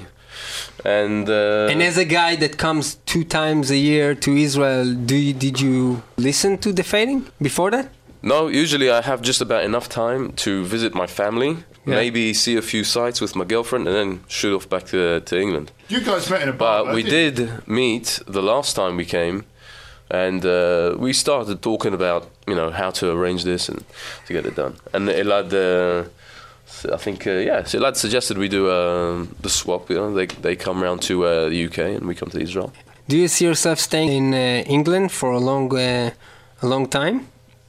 S7: And uh,
S3: And as a guy that comes two times a year to Israel, do you, did you listen to the Fading before that?
S7: no, usually I have just about enough time to visit my family,
S3: Yeah.
S7: maybe see a few sites with my girlfriend, and then shoot off back to to England.
S5: You guys met in a bar.
S7: But we
S5: didn't you?
S7: did meet the last time we came, and uh, we started talking about you know how to arrange this and to get it done. And Elad, uh, I think uh, yeah, so Elad suggested we do uh, the swap. You know, they they come round to uh, the U K and we come to Israel.
S3: Do you see yourself staying in uh, England for a long, uh, a long time?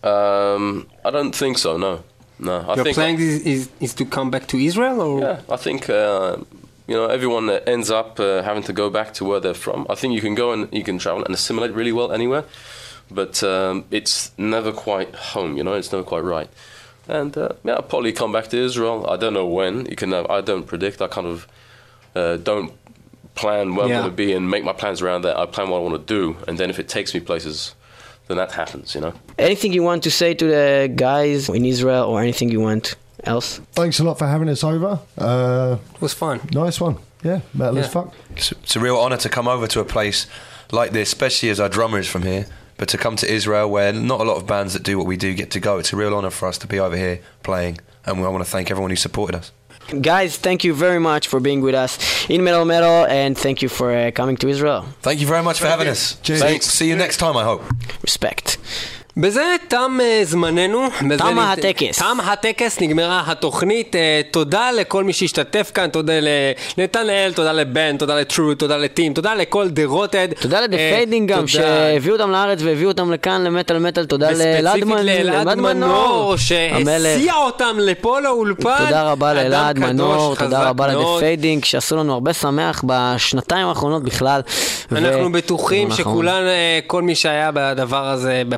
S7: Um, I don't think so. No, no. I
S3: Your
S7: think
S3: plan is, is is to come back to Israel, or
S7: yeah, I think uh, you know everyone that ends up uh, having to go back to where they're from. I think you can go and you can travel and assimilate really well anywhere, but um, it's never quite home. You know, it's never quite right. And uh, yeah, I'll probably come back to Israel. I don't know when. You can. Uh, I don't predict. I kind of uh, don't plan where
S3: Yeah.
S7: I'm going to be and make my plans around that. I plan what I want to do, and then if it takes me places, then that happens. You know.
S2: Anything you want to say to the guys in Israel or anything you want else?
S6: Thanks a lot for having us over. Uh,
S3: it was fun.
S6: nice one. Yeah, metal as
S3: Yeah.
S6: fuck.
S4: It's, it's a real honour to come over to a place like this, especially as our drummer is from here. But to come to Israel, where not a lot of bands that do what we do get to go, it's a real honour for us to be over here playing. And I want to thank everyone who supported us.
S2: Guys, thank you very much for being with us in Metal Metal, and thank you for uh, coming to Israel.
S4: Thank you very much for having us.
S6: Cheers.
S4: Thanks. See you next time, I hope.
S2: Respect.
S3: בזה תם אה, זמננו. בזה
S2: תם
S3: נת-
S2: הטקס.
S3: תם הטקס, נגמרה התוכנית. אה, תודה לכל מי שהשתתף כאן, תודה לנתנאל, תודה לבן, תודה לטרו, תודה לטים, תודה לכל The Rotted.
S2: תודה לדה
S3: אה,
S2: פיידינג גם,
S3: תודה.
S2: שהביאו אותם לארץ והביאו אותם לכאן למטל מטל. תודה לאלעד
S3: וספציפית לאלעד מנור,
S2: המלך.
S3: שהסיע אותם לפה לאולפן.
S2: תודה רבה
S3: אדם
S2: לאלעד
S3: קדוש,
S2: מנור,
S3: חזק
S2: תודה רבה לדה
S3: מאוד.
S2: פיידינג, שעשו לנו הרבה שמח בשנתיים האחרונות בכלל.
S3: אנחנו
S2: ו-
S3: בטוחים
S2: נכון.
S3: שכולן, אה, כל מי שהיה בדבר הזה, בפסטיבל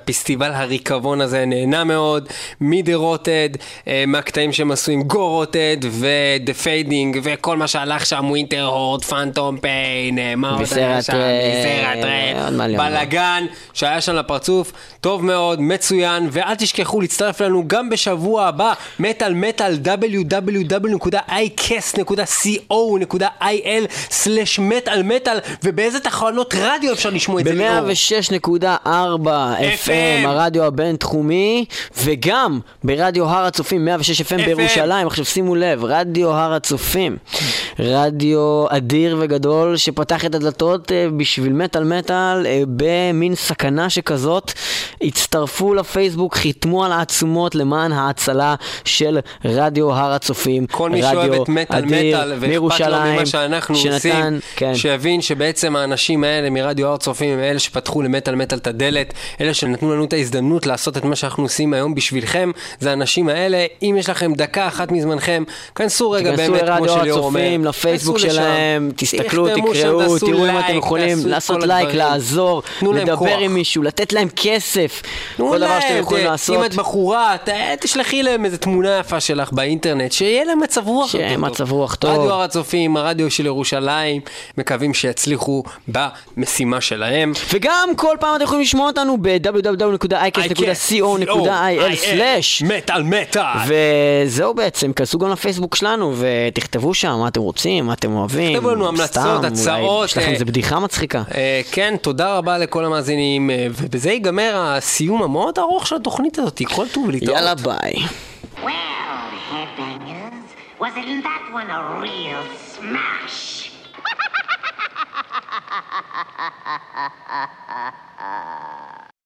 S3: גל הריקבון הזה, נהנה מאוד מ-The Rotted, מהקטעים שהם עשו עם Go Rotted ו-The Fading וכל מה שהלך שם, Winter Horde, Phantom Pain, מה עוד היה שם, סרט רב, בלגן שהיה שם לפרצוף, טוב מאוד, מצוין, ואל תשכחו להצטרף לנו גם בשבוע הבא, מטל מטל, דאבליו דאבליו דאבליו נקודה איי קאסט נקודה סי או נקודה איי אל סלש מטל מטל, ובאיזה תחנות רדיו אפשר לשמוע את זה?
S2: ב-מאה ושש נקודה ארבע אף אם, הרדיו הבינתחומי, וגם ברדיו הר הצופים, מאה ושש אף אם בירושלים. עכשיו שימו לב, רדיו הר הצופים, רדיו אדיר וגדול שפתח את הדלתות בשביל מטל מטל במין סכנה שכזאת. הצטרפו לפייסבוק, חיתמו על העצומות למען ההצלה של רדיו הר הצופים.
S3: כל מי שאוהב את מטל מטל ואכפת לו ממה שאנחנו עושים,
S2: כן.
S3: שיבין שבעצם האנשים האלה מרדיו הר הצופים הם אלה שפתחו למטל מטל את הדלת, אלה שנתנו לנו את ההזדמנות לעשות את מה שאנחנו עושים היום בשבילכם. זה האנשים האלה. אם יש לכם דקה אחת מזמנכם, כנסו רגע באמת כמו שליאור אומר,
S2: הצופים, לפייסבוק שלהם, תסתכלו, תקראו, תראו אם אתם יכולים לעשות לייק, לעזור, לדבר עם מישהו, לתת להם כסף, כל דבר שאתם יכולים לעשות.
S3: אם את בחורה, תשלחי להם איזו תמונה יפה שלך באינטרנט, שיהיה להם מצב רוח
S2: שיהיה מצב רוח טוב.
S3: רדיו הר הצופים, הרדיו של ירושלים, מקווים שיצליחו במשימה שלהם.
S2: וגם כל פעם אתם יכולים לשמוע אותנו ב-דאבליו דאבליו דאבליו נקודה איי קאסט נקודה סי או נקודה איי אל סלש
S3: מטל מטל.
S2: וזהו בעצם, כנסו גם לפייסבוק שלנו ותכתבו שם מה אתם רוצים, מה אתם אוהבים.
S3: תכתבו לנו המלצות, הצעות.
S2: יש לכם איזה בדיחה מצחיקה.
S3: כן, תודה רבה לכל המאזינים, ובזה ייגמר הסיום המאוד ארוך של התוכנית הזאת. כל טוב להתראות.
S2: יאללה ביי.
S1: Well, headbangers, wasn't that one a real smash?